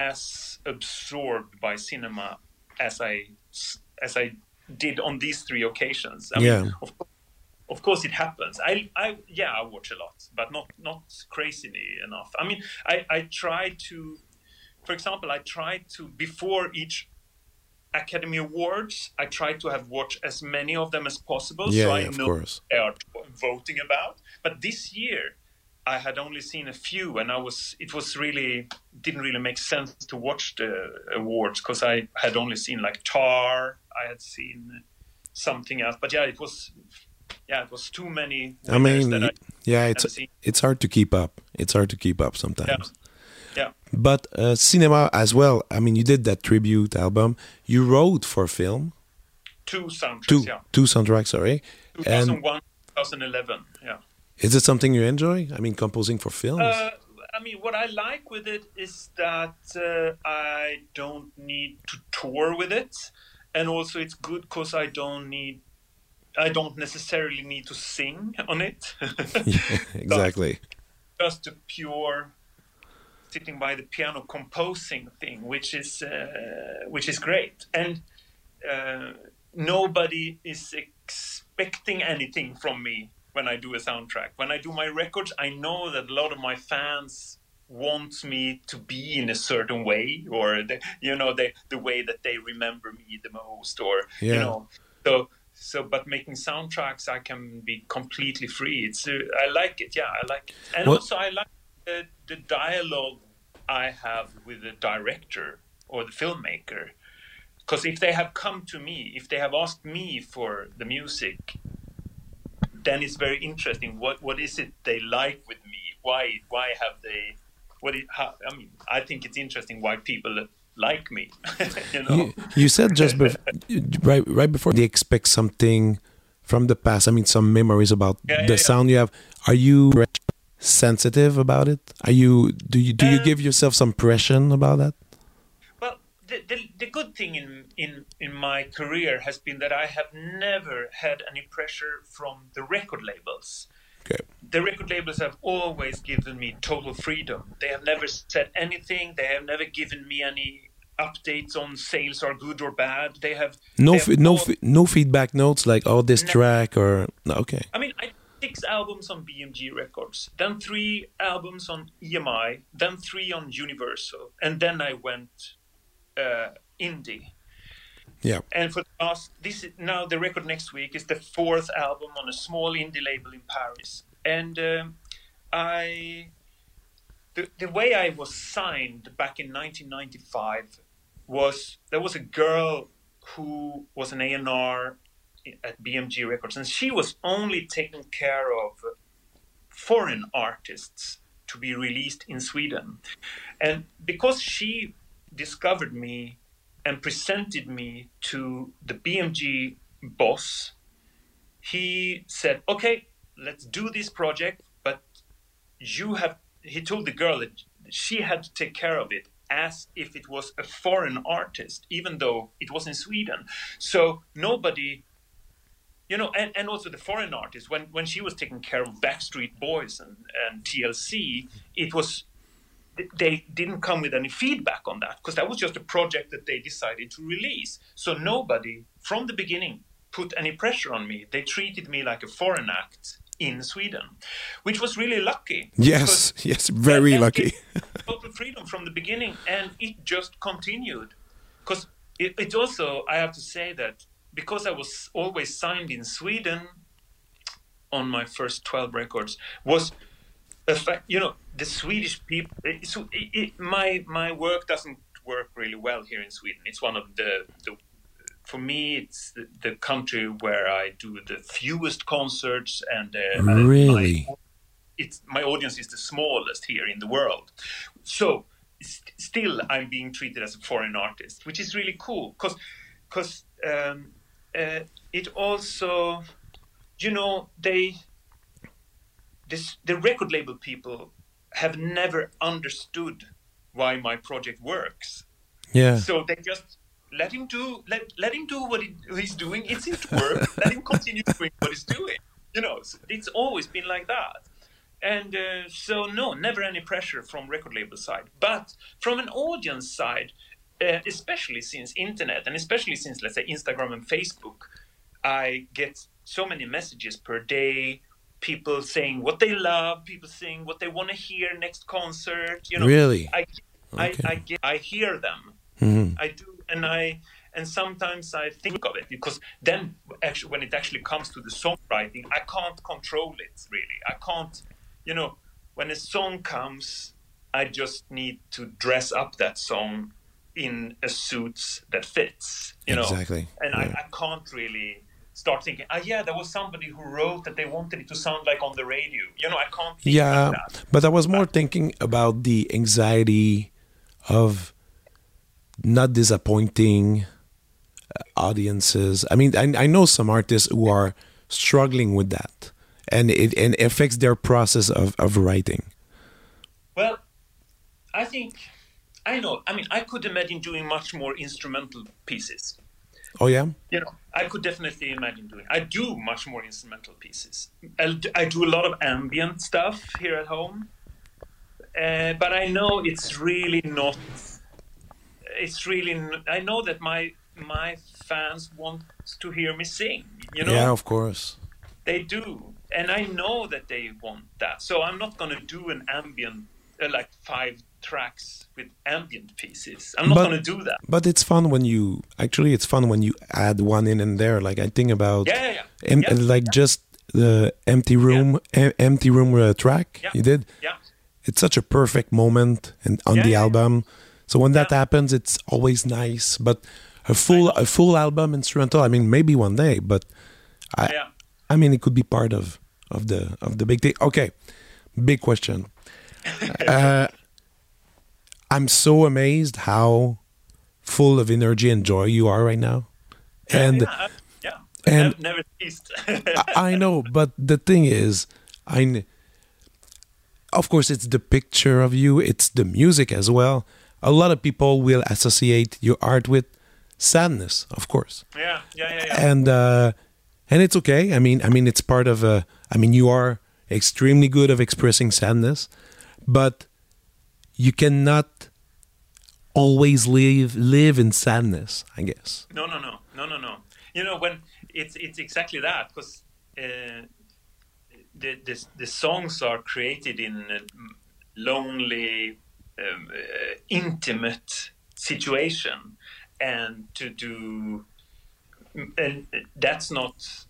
as absorbed by cinema as I as I did on these three occasions. I Yeah. mean, of, of course it happens. I, I yeah, I watch a lot, but not not crazily enough. I mean, I, I try to, for example, I try to, before each Academy Awards, I try to have watched as many of them as possible, Yeah, so I yeah, of know course. what they are voting about. But this year, I had only seen a few, and I was it was really didn't really make sense to watch the awards because I had only seen like Tar, I had seen something else, but yeah, it was yeah, it was too many. I mean, that I yeah, it's hadn't seen. it's hard to keep up. It's hard to keep up sometimes. Yeah. Yeah. But uh, cinema as well. I mean, you did that tribute album. You wrote for film. Two soundtracks, Two yeah. two soundtracks, sorry. two thousand one, twenty eleven, yeah. Is it something you enjoy? I mean, composing for films. Uh, I mean, what I like with it is that uh, I don't need to tour with it, and also it's good because I don't need, I don't necessarily need to sing on it. Yeah, exactly. So just a pure sitting by the piano composing thing, which is uh, which is great, and uh, nobody is expecting anything from me when I do a soundtrack. When I do my records, I know that a lot of my fans want me to be in a certain way, or the, you know, the the way that they remember me the most, or Yeah. you know, so so. But making soundtracks, I can be completely free. It's uh, I like it, yeah, I like it, and What- also I like the, the dialogue I have with the director or the filmmaker. Because if they have come to me, if they have asked me for the music, then it's very interesting. What what is it they like with me? Why why have they? What it, how, I mean, I think it's interesting why people like me. you know, You, you said just bef- right right before they expect something from the past. I mean, some memories about Yeah, yeah, the yeah. sound you have. Are you sensitive about it? Are you do you do you Uh, give yourself some pressure about that? well, the, the the good thing in in in my career has been that I have never had any pressure from the record labels. Okay. The record labels have always given me total freedom. They have never said anything. They have never given me any updates on sales are good or bad. They have No, they fe- have no, all- fe- no feedback notes like oh this No. track or no, okay. I mean, I did six albums on B M G Records, then three albums on E M I, then three on Universal, and then I went uh, indie. Yeah. And for the last, this is now the record next week is the fourth album on a small indie label in Paris, and um, I, the the way I was signed back in nineteen ninety-five was there was a girl who was an A and R at B M G Records, and she was only taking care of foreign artists to be released in Sweden. And because she discovered me and presented me to the B M G boss, he said, okay, let's do this project, but you have, he told the girl that she had to take care of it as if it was a foreign artist, even though it was in Sweden. So nobody, you know, and, and also the foreign artists, when, when she was taking care of Backstreet Boys and, and T L C, it was, they didn't come with any feedback on that, because that was just a project that they decided to release. So nobody from the beginning put any pressure on me. They treated me like a foreign act in Sweden, which was really lucky. Yes, yes, very lucky. Total freedom from the beginning, and it just continued. Because it, it also, I have to say that because I was always signed in Sweden on my first twelve records, was a fact, you know, the Swedish people, it, so it, it, my my work doesn't work really well here in Sweden. It's one of the, the for me, it's the, the country where I do the fewest concerts, and uh, really, my, it's my audience is the smallest here in the world. So st- still, I'm being treated as a foreign artist, which is really cool, because because um, uh, it also, you know, they this the record label people have never understood why my project works. Yeah. So they just let him do let let him do what he, he's doing. It's his work. Let him continue doing what he's doing. You know, so it's always been like that. And uh, so no, never any pressure from record label side. But from an audience side, uh, especially since internet and especially since, let's say, Instagram and Facebook, I get so many messages per day. People saying what they love, people saying what they want to hear next concert. You know, really, I I okay. I, get, I hear them. Mm-hmm. I do, and I and sometimes I think of it, because then actually when it actually comes to the songwriting, I can't control it really. I can't, you know, when a song comes, I just need to dress up that song in a suit that fits. You know, exactly, and yeah. I, I can't really start thinking, oh yeah, there was somebody who wrote that they wanted it to sound like on the radio. You know, I can't think yeah, like that. But I was more thinking about the anxiety of not disappointing audiences. I mean, I, I know some artists who are struggling with that, and it and affects their process of, of writing. Well, I think, I know, I mean, I could imagine doing much more instrumental pieces. Oh, yeah? You know, I could definitely imagine doing. I do much more instrumental pieces. I, I do a lot of ambient stuff here at home, uh, but I know it's really not. It's really. I know that my my fans want to hear me sing. You know. Yeah, of course. They do, and I know that they want that. So I'm not going to do an ambient, uh, like five tracks with ambient pieces. I'm not going to do that. But it's fun when you actually it's fun when you add one in and there. Like I think about yeah, yeah, yeah. Em, yeah like yeah. just the empty room, yeah. em, empty room uh, track yeah. you did. Yeah, it's such a perfect moment and on yeah, the yeah, album. Yeah. So when that yeah. happens, it's always nice. But a full a full album instrumental. I mean, maybe one day, but I yeah. I mean, it could be part of of the of the big thing. Okay, big question. uh, I'm so amazed how full of energy and joy you are right now. And yeah, yeah. and I've never ceased. I, I know, but the thing is, I of course it's the picture of you, it's the music as well. A lot of people will associate your art with sadness, of course. Yeah, yeah, yeah. yeah. And uh, and it's okay. I mean, I mean, it's part of a. I mean, you are extremely good of expressing sadness, but you cannot always live live in sadness, I guess. No, no, no, no, no, no. You know, when it's it's exactly that, because uh, the, the the songs are created in a lonely, um, uh, intimate situation, and to do, and that's not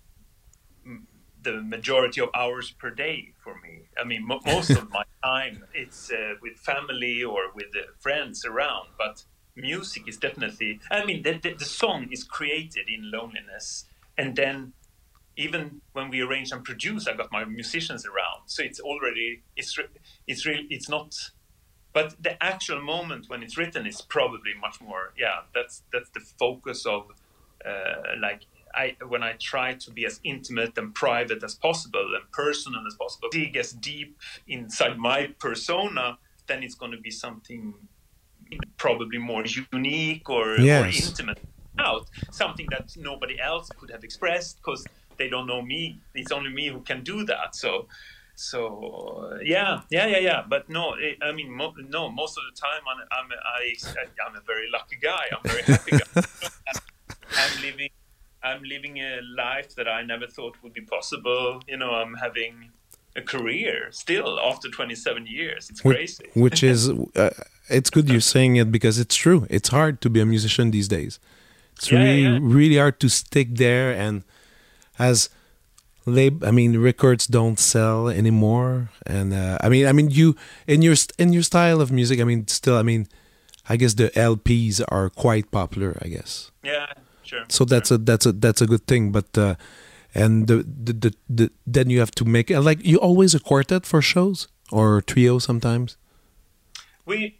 the majority of hours per day for me. I mean, mo- most of my time it's uh, with family or with uh, friends around, but music is definitely, I mean, the, the, the song is created in loneliness, and then even when we arrange and produce, I got my musicians around. So it's already, it's it's really, it's not, but the actual moment when it's written is probably much more, yeah, that's that's the focus of, uh, like, I when I try to be as intimate and private as possible and personal as possible, dig as deep inside my persona, then it's going to be something probably more unique or, Yes. or intimate out, something that nobody else could have expressed because they don't know me. It's only me who can do that. So, so uh, yeah, yeah, yeah, yeah. But no, it, I mean, mo- no. Most of the time, I'm I'm I, I'm a very lucky guy. I'm a very happy guy. I'm living, I'm living a life that I never thought would be possible. You know, I'm having a career still after twenty-seven years. It's crazy. Which is, uh, it's good you're saying it because it's true. It's hard to be a musician these days. It's Yeah, really, yeah, yeah. really hard to stick there. And as lab, I mean, records don't sell anymore. And uh, I mean, I mean, you in your st- in your style of music. I mean, still, I mean, I guess the L Ps are quite popular. I guess. Yeah, sure. So that's sure. a that's a that's a good thing. But uh, and the the, the the then you have to make uh, like you always a quartet for shows or trio sometimes. we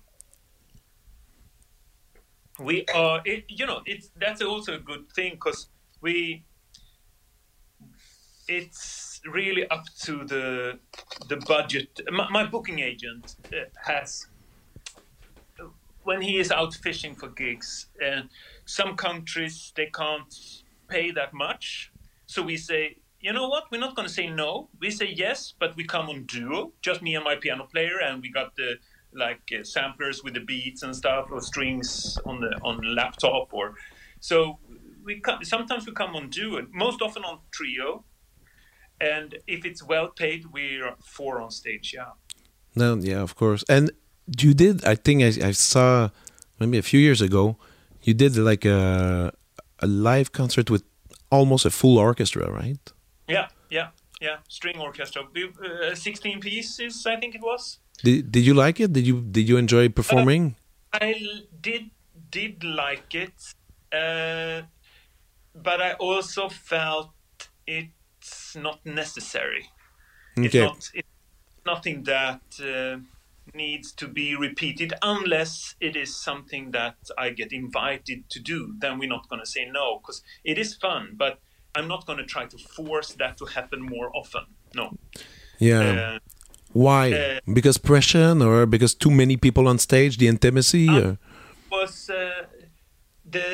we are it, you know it's that's also a good thing because we it's really up to the the budget. My, my booking agent uh, has, when he is out fishing for gigs, and uh, some countries they can't pay that much, so we say, you know what, we're not going to say no, we say yes, but we come on duo, just me and my piano player, and we got the like uh, samplers with the beats and stuff, or strings on the on the laptop, or so we come, sometimes we come on duo, most often on trio, and if it's well paid, we're four on stage. Yeah. No, yeah, of course. And you did, I think I, I saw maybe a few years ago, you did like a a live concert with almost a full orchestra, right? Yeah, yeah, yeah. String orchestra, uh, sixteen pieces, I think it was. Did Did you like it? Did you Did you enjoy performing? Uh, I did did like it, uh, but I also felt it's not necessary. Okay. It's not. It's nothing that uh, needs to be repeated unless it is something that I get invited to do. Then we're not going to say no, because it is fun, but I'm not going to try to force that to happen more often. No. Yeah. Uh, Why? uh, Because pressure, or because too many people on stage, the intimacy? uh, Or? was uh, the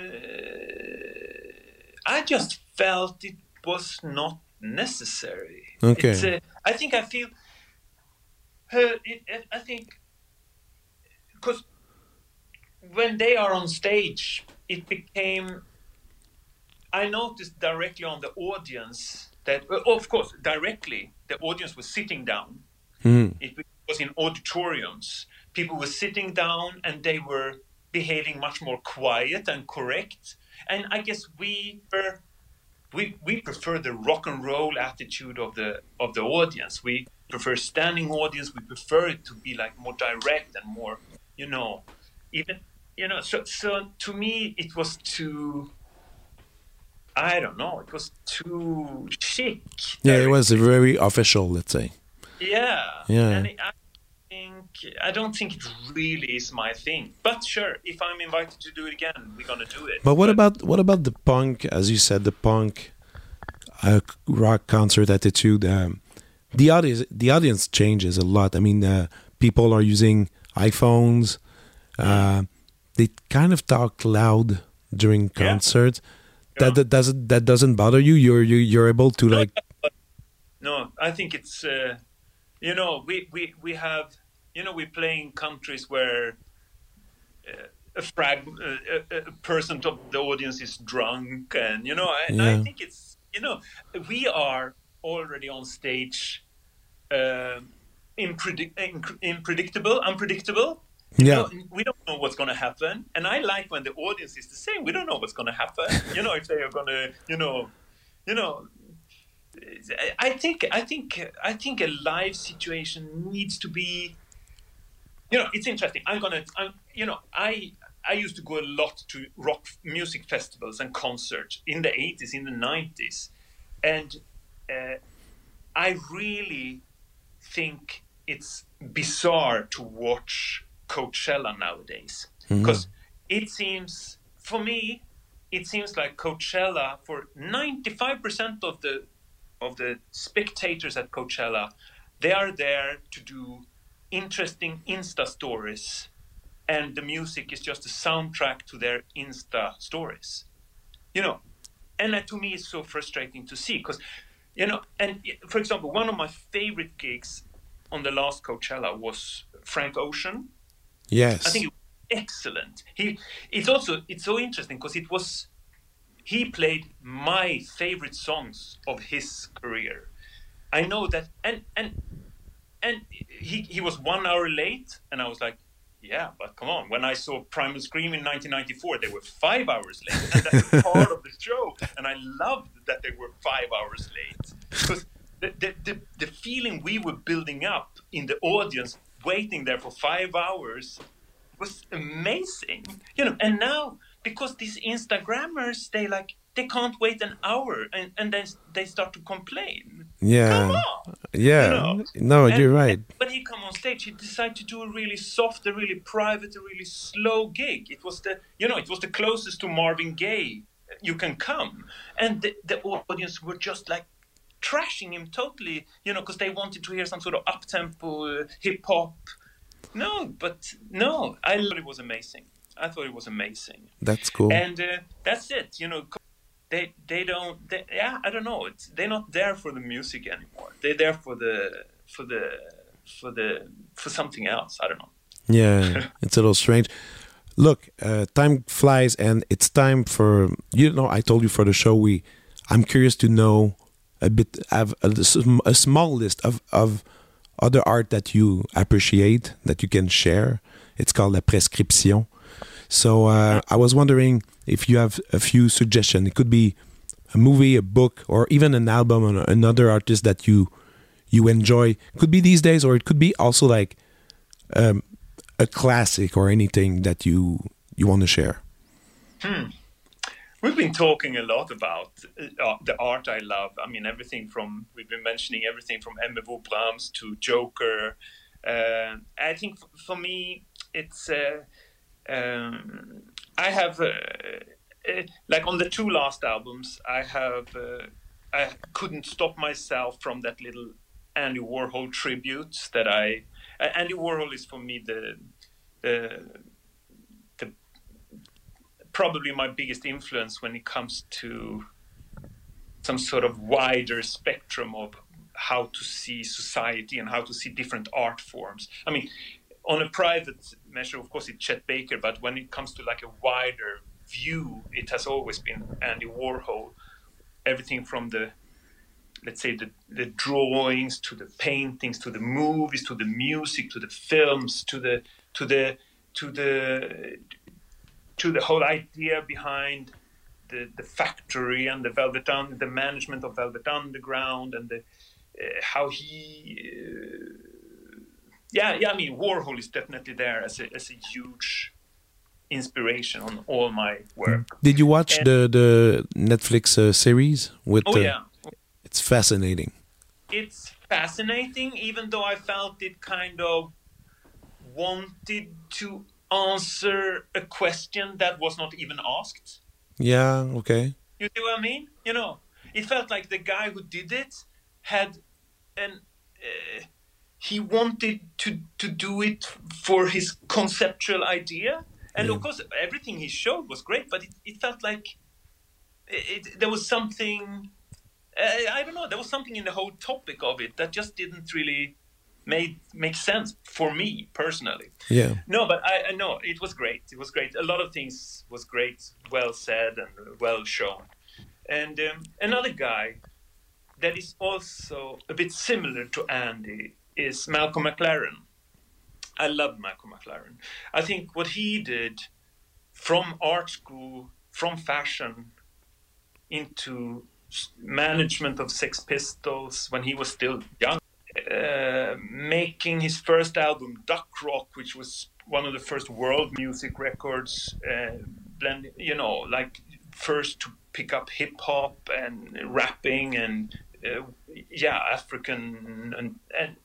I just felt it was not necessary. Okay. It's, uh, I think I feel. Uh, it, it, I think because when they are on stage, it became. I noticed directly on the audience that, uh, of course, directly the audience was sitting down. Mm. It was in auditoriums. People were sitting down and they were behaving much more quiet and correct. And I guess we were, we we prefer the rock and roll attitude of the of the audience. We prefer standing audience. We prefer it to be like more direct and more, you know, even you know. So so to me, it was too. I don't know. It was too chic. Yeah, it was very official, let's say. Yeah. Yeah. And I think I don't think it really is my thing. But sure, if I'm invited to do it again, we're gonna do it. But what But- about what about the punk? As you said, the punk uh, rock concert attitude. Um, the audience, the audience changes a lot. I mean, uh, people are using iPhones. Uh, they kind of talk loud during Yeah. concerts. Yeah. That, that doesn't that doesn't bother you. You're you, you're able to like. No, I think it's uh, you know we, we we have you know we play in countries where uh, a frag uh, a, a person of the audience is drunk, and you know I, Yeah. I think it's you know we are already on stage uh, impredict, unpredictable unpredictable. You Yeah. know, we don't know what's going to happen, and I like when the audience is the same. We don't know what's going to happen. You know, if they are going to, you know, you know. I think I think I think a live situation needs to be. You know, it's interesting. I'm gonna. I'm, you know, I I used to go a lot to rock music festivals and concerts in the eighties, in the nineties. And uh, I really think it's bizarre to watch Coachella nowadays. Because mm-hmm. it seems, for me, it seems like Coachella, for ninety-five percent of the of the spectators at Coachella, they are there to do interesting Insta stories, and the music is just a soundtrack to their Insta stories. You know, and that to me is so frustrating to see, because, you know, and for example, one of my favorite gigs on the last Coachella was Frank Ocean. Yes. I think it was excellent. He, it's also, it's so interesting because it was, he played my favorite songs of his career. I know that, and, and, and he, he was one hour late, and I was like, yeah, but come on. When I saw Primal Scream in nineteen ninety-four, they were five hours late, and that's part of the show. And I loved that they were five hours late, because the, the, the, the feeling we were building up in the audience, waiting there for five hours, was amazing. You know, and now, because these Instagrammers, they like, they can't wait an hour, and, and then they start to complain. Yeah. Come on. Yeah. You know? No, and, you're right. When he come on stage, he decided to do a really soft, a really private, a really slow gig. It was the, you know, it was the closest to Marvin Gaye you can come. And the, the audience were just like trashing him totally, you know, because they wanted to hear some sort of up-tempo uh, hip-hop. No, but no, I thought it was amazing. I thought it was amazing. That's cool. And uh, that's it, you know. They they don't they, yeah I don't know, it's, they're not there for the music anymore. They're there for the for the for the for something else. I don't know. Yeah, it's a little strange. Look, uh, time flies, and it's time for, you know, I told you for the show, we I'm curious to know a bit, have a, a small list of of other art that you appreciate that you can share. It's called La Prescription. So uh, I was wondering if you have a few suggestions. It could be a movie, a book, or even an album on another artist that you you enjoy. It could be these days, or it could be also like um, a classic or anything that you you want to share. Hmm. We've been talking a lot about uh, the art I love. I mean, everything from, we've been mentioning everything from Aimé Brahms to Joker. Uh, I think f- for me, it's... Uh, Um, I have, uh, uh, like on the two last albums, I have, uh, I couldn't stop myself from that little Andy Warhol tribute that I, uh, Andy Warhol is for me the, the, the, probably my biggest influence when it comes to some sort of wider spectrum of how to see society and how to see different art forms. I mean, on a private measure, of course, it's Chet Baker, but when it comes to like a wider view, it has always been Andy Warhol. Everything from the, let's say, the, the drawings to the paintings, to the movies, to the music, to the films, to the to the to the to the whole idea behind the the factory and the Velvet Under, the management of Velvet Underground, and the uh, how he. Uh, Yeah, yeah. I mean, Warhol is definitely there as a as a huge inspiration on all my work. Did you watch and, the the Netflix uh, series with? Oh uh, yeah, it's fascinating. It's fascinating, even though I felt it kind of wanted to answer a question that was not even asked. Yeah. Okay. You see what I mean? You know, it felt like the guy who did it had an. Uh, He wanted to, to do it for his conceptual idea. And yeah. of course, everything he showed was great, but it, it felt like it, it, there was something, uh, I don't know, there was something in the whole topic of it that just didn't really made, make sense for me personally. Yeah. No, but I, I know, it was great. It was great. A lot of things was great, well said and well shown. And um, another guy that is also a bit similar to Andy is Malcolm McLaren. I love Malcolm McLaren. I think what he did from art school, from fashion, into management of Sex Pistols when he was still young, uh, making his first album, Duck Rock, which was one of the first world music records, uh, blend, you know, like first to pick up hip hop and rapping and uh, yeah, African and and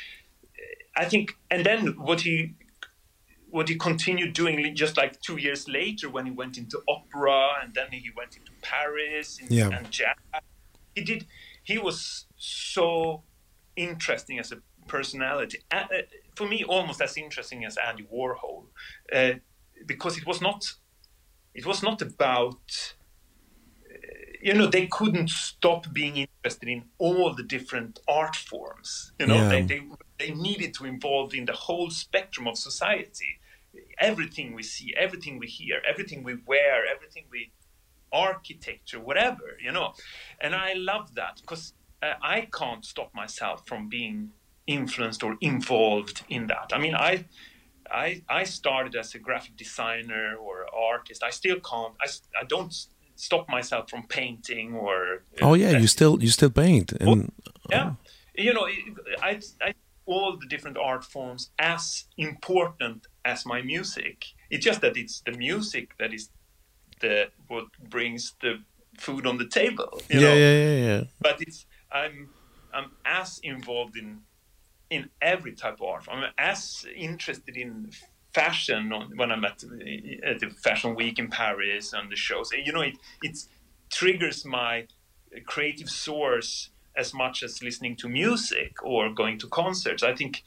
I think, and then what he what he continued doing just like two years later when he went into opera and then he went into Paris and, Yeah. and jazz. He did. He was so interesting as a personality. Uh, uh, for me, almost as interesting as Andy Warhol, uh, because it was not. It was not about. Uh, you know, they couldn't stop being interested in all the different art forms. You know, Yeah. they, they they needed to involve in the whole spectrum of society. Everything we see, everything we hear, everything we wear, everything we architecture, whatever, you know. And I love that because uh, I can't stop myself from being influenced or involved in that. I mean, I, I, I started as a graphic designer or artist. I still can't. I, I don't stop myself from painting or. Uh, Oh yeah, you still you still paint and yeah, you know, I, I all the different art forms as important as my music. It's just that it's the music that is the what brings the food on the table. You yeah, know? yeah, yeah, yeah. But it's I'm I'm as involved in in every type of art. I'm as interested in fashion on, when I'm at at the fashion week in Paris and the shows. You know, it it triggers my creative source as much as listening to music or going to concerts. I think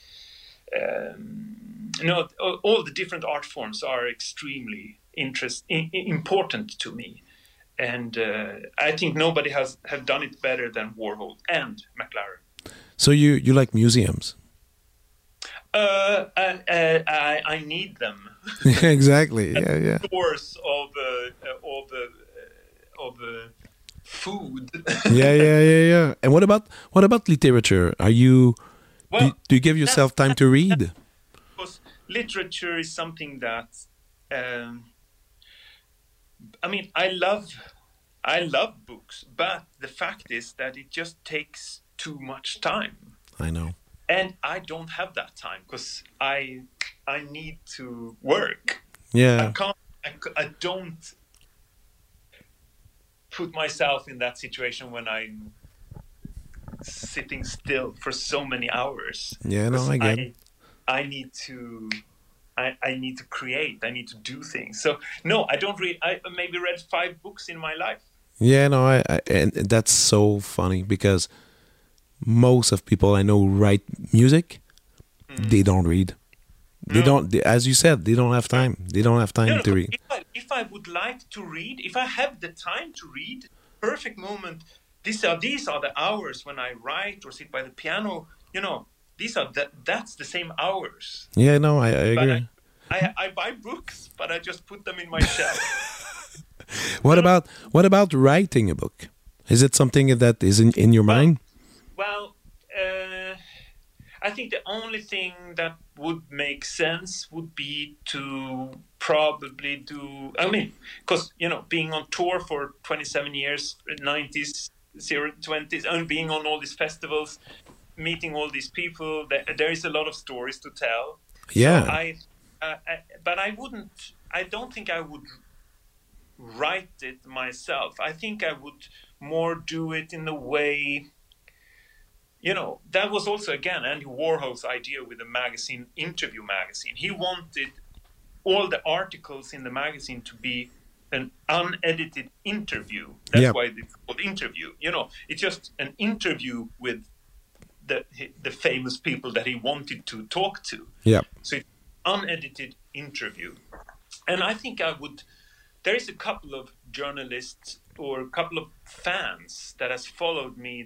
um, you know all, all the different art forms are extremely interest in, important to me, and uh, I think nobody has have done it better than Warhol and McLaren. So you you like museums? Uh, I, I, I I need them. Exactly. Yeah, yeah. Source of uh, of uh, of uh, food. Yeah, yeah, yeah, yeah. And what about what about literature? Are you Well, do, do you give yourself time to read? Because literature is something that um, I mean, I love I love books, but the fact is that it just takes too much time. I know. And I don't have that time because I I need to work. Yeah. I can't. I, I don't put myself in that situation when I'm sitting still for so many hours. Yeah, no, I get. I, I need to. I, I need to create. I need to do things. So no, I don't read. I maybe read five books in my life. Yeah, no, I, I and that's so funny because most of people I know write music. Mm. They don't read. They no. don't. They, as you said, they don't have time. They don't have time no, no, to read. If I, if I would like to read, if I have the time to read, perfect moment. These are these are the hours when I write or sit by the piano. You know, these are the, that's the same hours. Yeah, no, I, I agree. I, I, I buy books, but I just put them in my shelf. What about what about writing a book? Is it something that is in, in your well, mind? Well, uh, I think the only thing that would make sense would be to probably do. I mean, because you know, being on tour for twenty-seven years, nineties, zero twenties, and being on all these festivals, meeting all these people, there, there is a lot of stories to tell. Yeah. So I, uh, I, but I wouldn't. I don't think I would write it myself. I think I would more do it in the way. You know, that was also, again, Andy Warhol's idea with the magazine, Interview magazine. He wanted all the articles in the magazine to be an unedited interview. That's yep. why it's called Interview. You know, it's just an interview with the the famous people that he wanted to talk to. Yeah. So it's unedited interview. And I think I would... There is a couple of journalists or a couple of fans that has followed me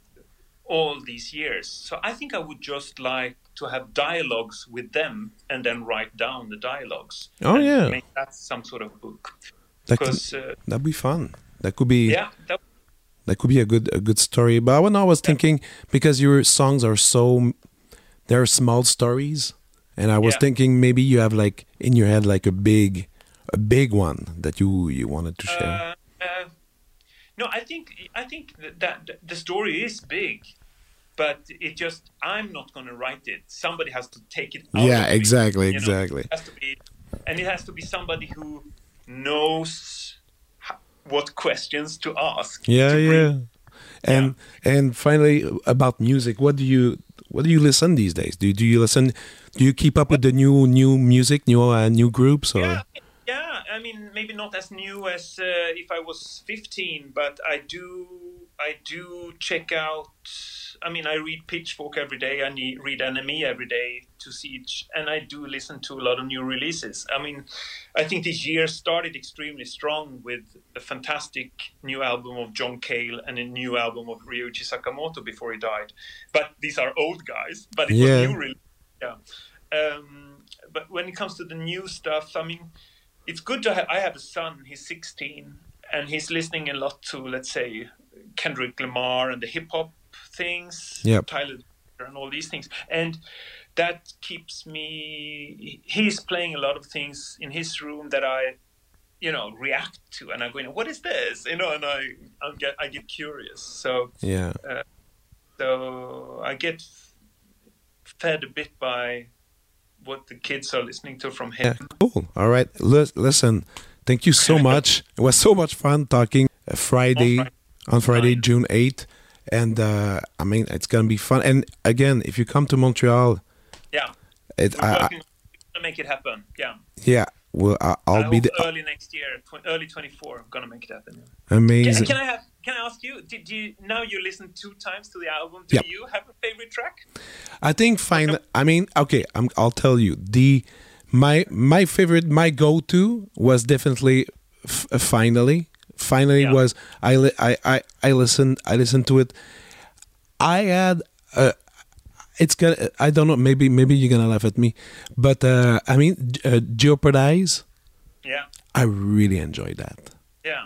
all these years. So I think I would just like to have dialogues with them and then write down the dialogues. Oh, and yeah. Make that some sort of book. That because, could, uh, that'd be fun. That could be... Yeah. That, that could be a good a good story. But when I was thinking, because your songs are so... They're small stories. And I was yeah. thinking maybe you have like in your head like a big... A big one that you, you wanted to share. Uh, uh, no, I think I think that, that the story is big. but it just, I'm not going to write it. Somebody has to take it out. Yeah, of exactly, me, you know? exactly. It has to be, and it has to be somebody who knows how, what questions to ask. Yeah, to yeah. And Yeah. and finally, about music, what do you what do you listen these days? Do do you listen? Do you keep up with the new new music, new uh, new groups? Or Yeah, yeah. I mean, maybe not as new as uh, if I was fifteen, but I do. I do check out. I mean, I read Pitchfork every day. I need, read N M E every day to see each, and I do listen to a lot of new releases. I mean, I think this year started extremely strong with a fantastic new album of John Cale and a new album of Ryuichi Sakamoto before he died. But these are old guys. But it Yeah. was new, really. Yeah. Um, but when it comes to the new stuff, I mean, it's good to have. I have a son. He's sixteen, and he's listening a lot to, let's say, Kendrick Lamar and the hip hop things, Yep. Tyler and all these things, and that keeps me. He's playing a lot of things in his room that I, you know, react to, and I'm going, "What is this?" You know, and I, I get, I get curious. So, yeah, uh, so I get fed a bit by what the kids are listening to from him. yeah, cool. All right, Lis- listen, thank you so much. It was so much fun talking uh, Friday On Friday. on Friday, Fine. June eighth, and uh, I mean it's gonna be fun. And again, if you come to Montreal, Yeah, it, we're I, I, working to make it happen. Yeah. yeah, well, I, I'll I be hope the, early next year, tw- early twenty-four. I'm gonna make it happen. Yeah. amazing. Can, can I have? Can I ask you? Did you now you listen two times to the album? Do Yep. you have a favorite track? I think fine. I mean, okay, I'm, I'll tell you the my my favorite, my go-to was definitely f- uh, finally. Finally Yeah. was I, li- I I I listened I listened to it. I had uh, it's gonna I don't know, maybe maybe you're gonna laugh at me, but uh, I mean uh, Jeopardize. Yeah, I really enjoyed that. yeah.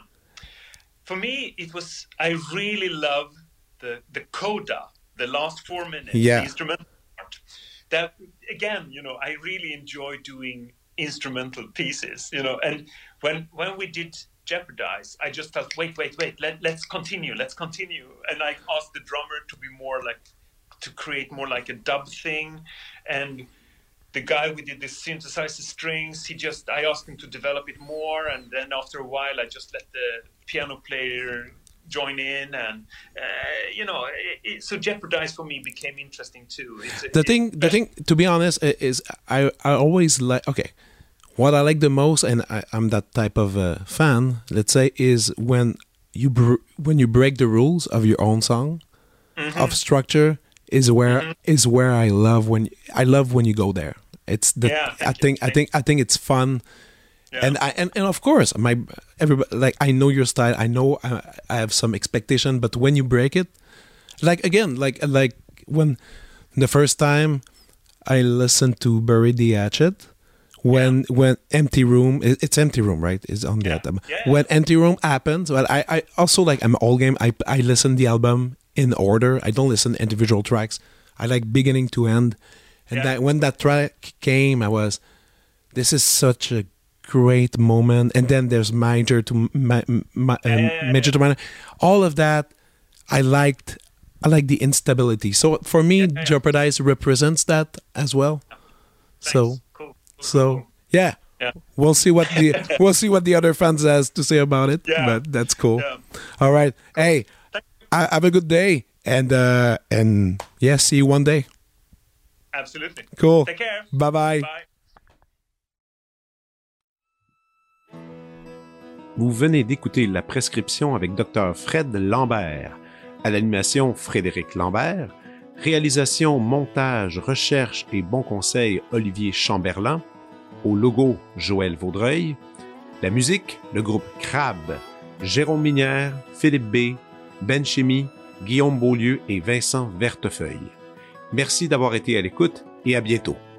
For me, it was. I really love the the coda, the last four minutes, Yeah. the instrumental part. That again, you know, I really enjoy doing instrumental pieces. You know, and when when we did Jeopardize, I just thought, wait, wait, wait, let, let's continue, let's continue. And I asked the drummer to be more like, to create more like a dub thing. And the guy we did the synthesizer strings, he just, I asked him to develop it more. And then after a while, I just let the piano player join in. And, uh, you know, it, it, so Jeopardize for me became interesting too. It's, The it, thing, the thing, to be honest, i- is I I always like okay. What I like the most, and I, I'm that type of uh, fan, let's say, is when you br- when you break the rules of your own song, mm-hmm. of structure, is where Mm-hmm. is where I love when I love when you go there. It's the Yeah, I thank you. think I Thank think I think it's fun, Yeah. and I and, and of course my everybody like I know your style. I know I, I have some expectation, but when you break it, like again, like like when the first time I listened to Bury the Hatchet. When when empty room it- it's empty room right is on the Yeah. album. Yeah. When empty room happens, well I, I also like I'm all game. I I listen the album in order. I don't listen individual tracks. I like beginning to end. And Yeah. that when that track came, I was, this is such a great moment. And then there's major to ma, ma, um, yeah, yeah, major to minor. All of that, I liked. I like the instability. So for me, yeah. Jeopardize represents that as well. So. Nice. Cool. Cool, So cool. yeah, Yeah. we'll see what the we'll see what the other fans has to say about it. Yeah. But that's cool. Yeah. All right, hey, I, have a good day, and uh, and yeah, see you one day. Absolutely. Cool. Take care. Bye bye. Bye. Vous venez d'écouter La Prescription avec Docteur Fred Lambert. À l'animation, Frédéric Lambert. Réalisation, montage, recherche et bons conseils, Olivier Chamberlain. Au logo, Joël Vaudreuil. La musique, le groupe Crabe. Jérôme Minière, Philippe B., Ben Chimie, Guillaume Beaulieu et Vincent Vertefeuille. Merci d'avoir été à l'écoute et à bientôt.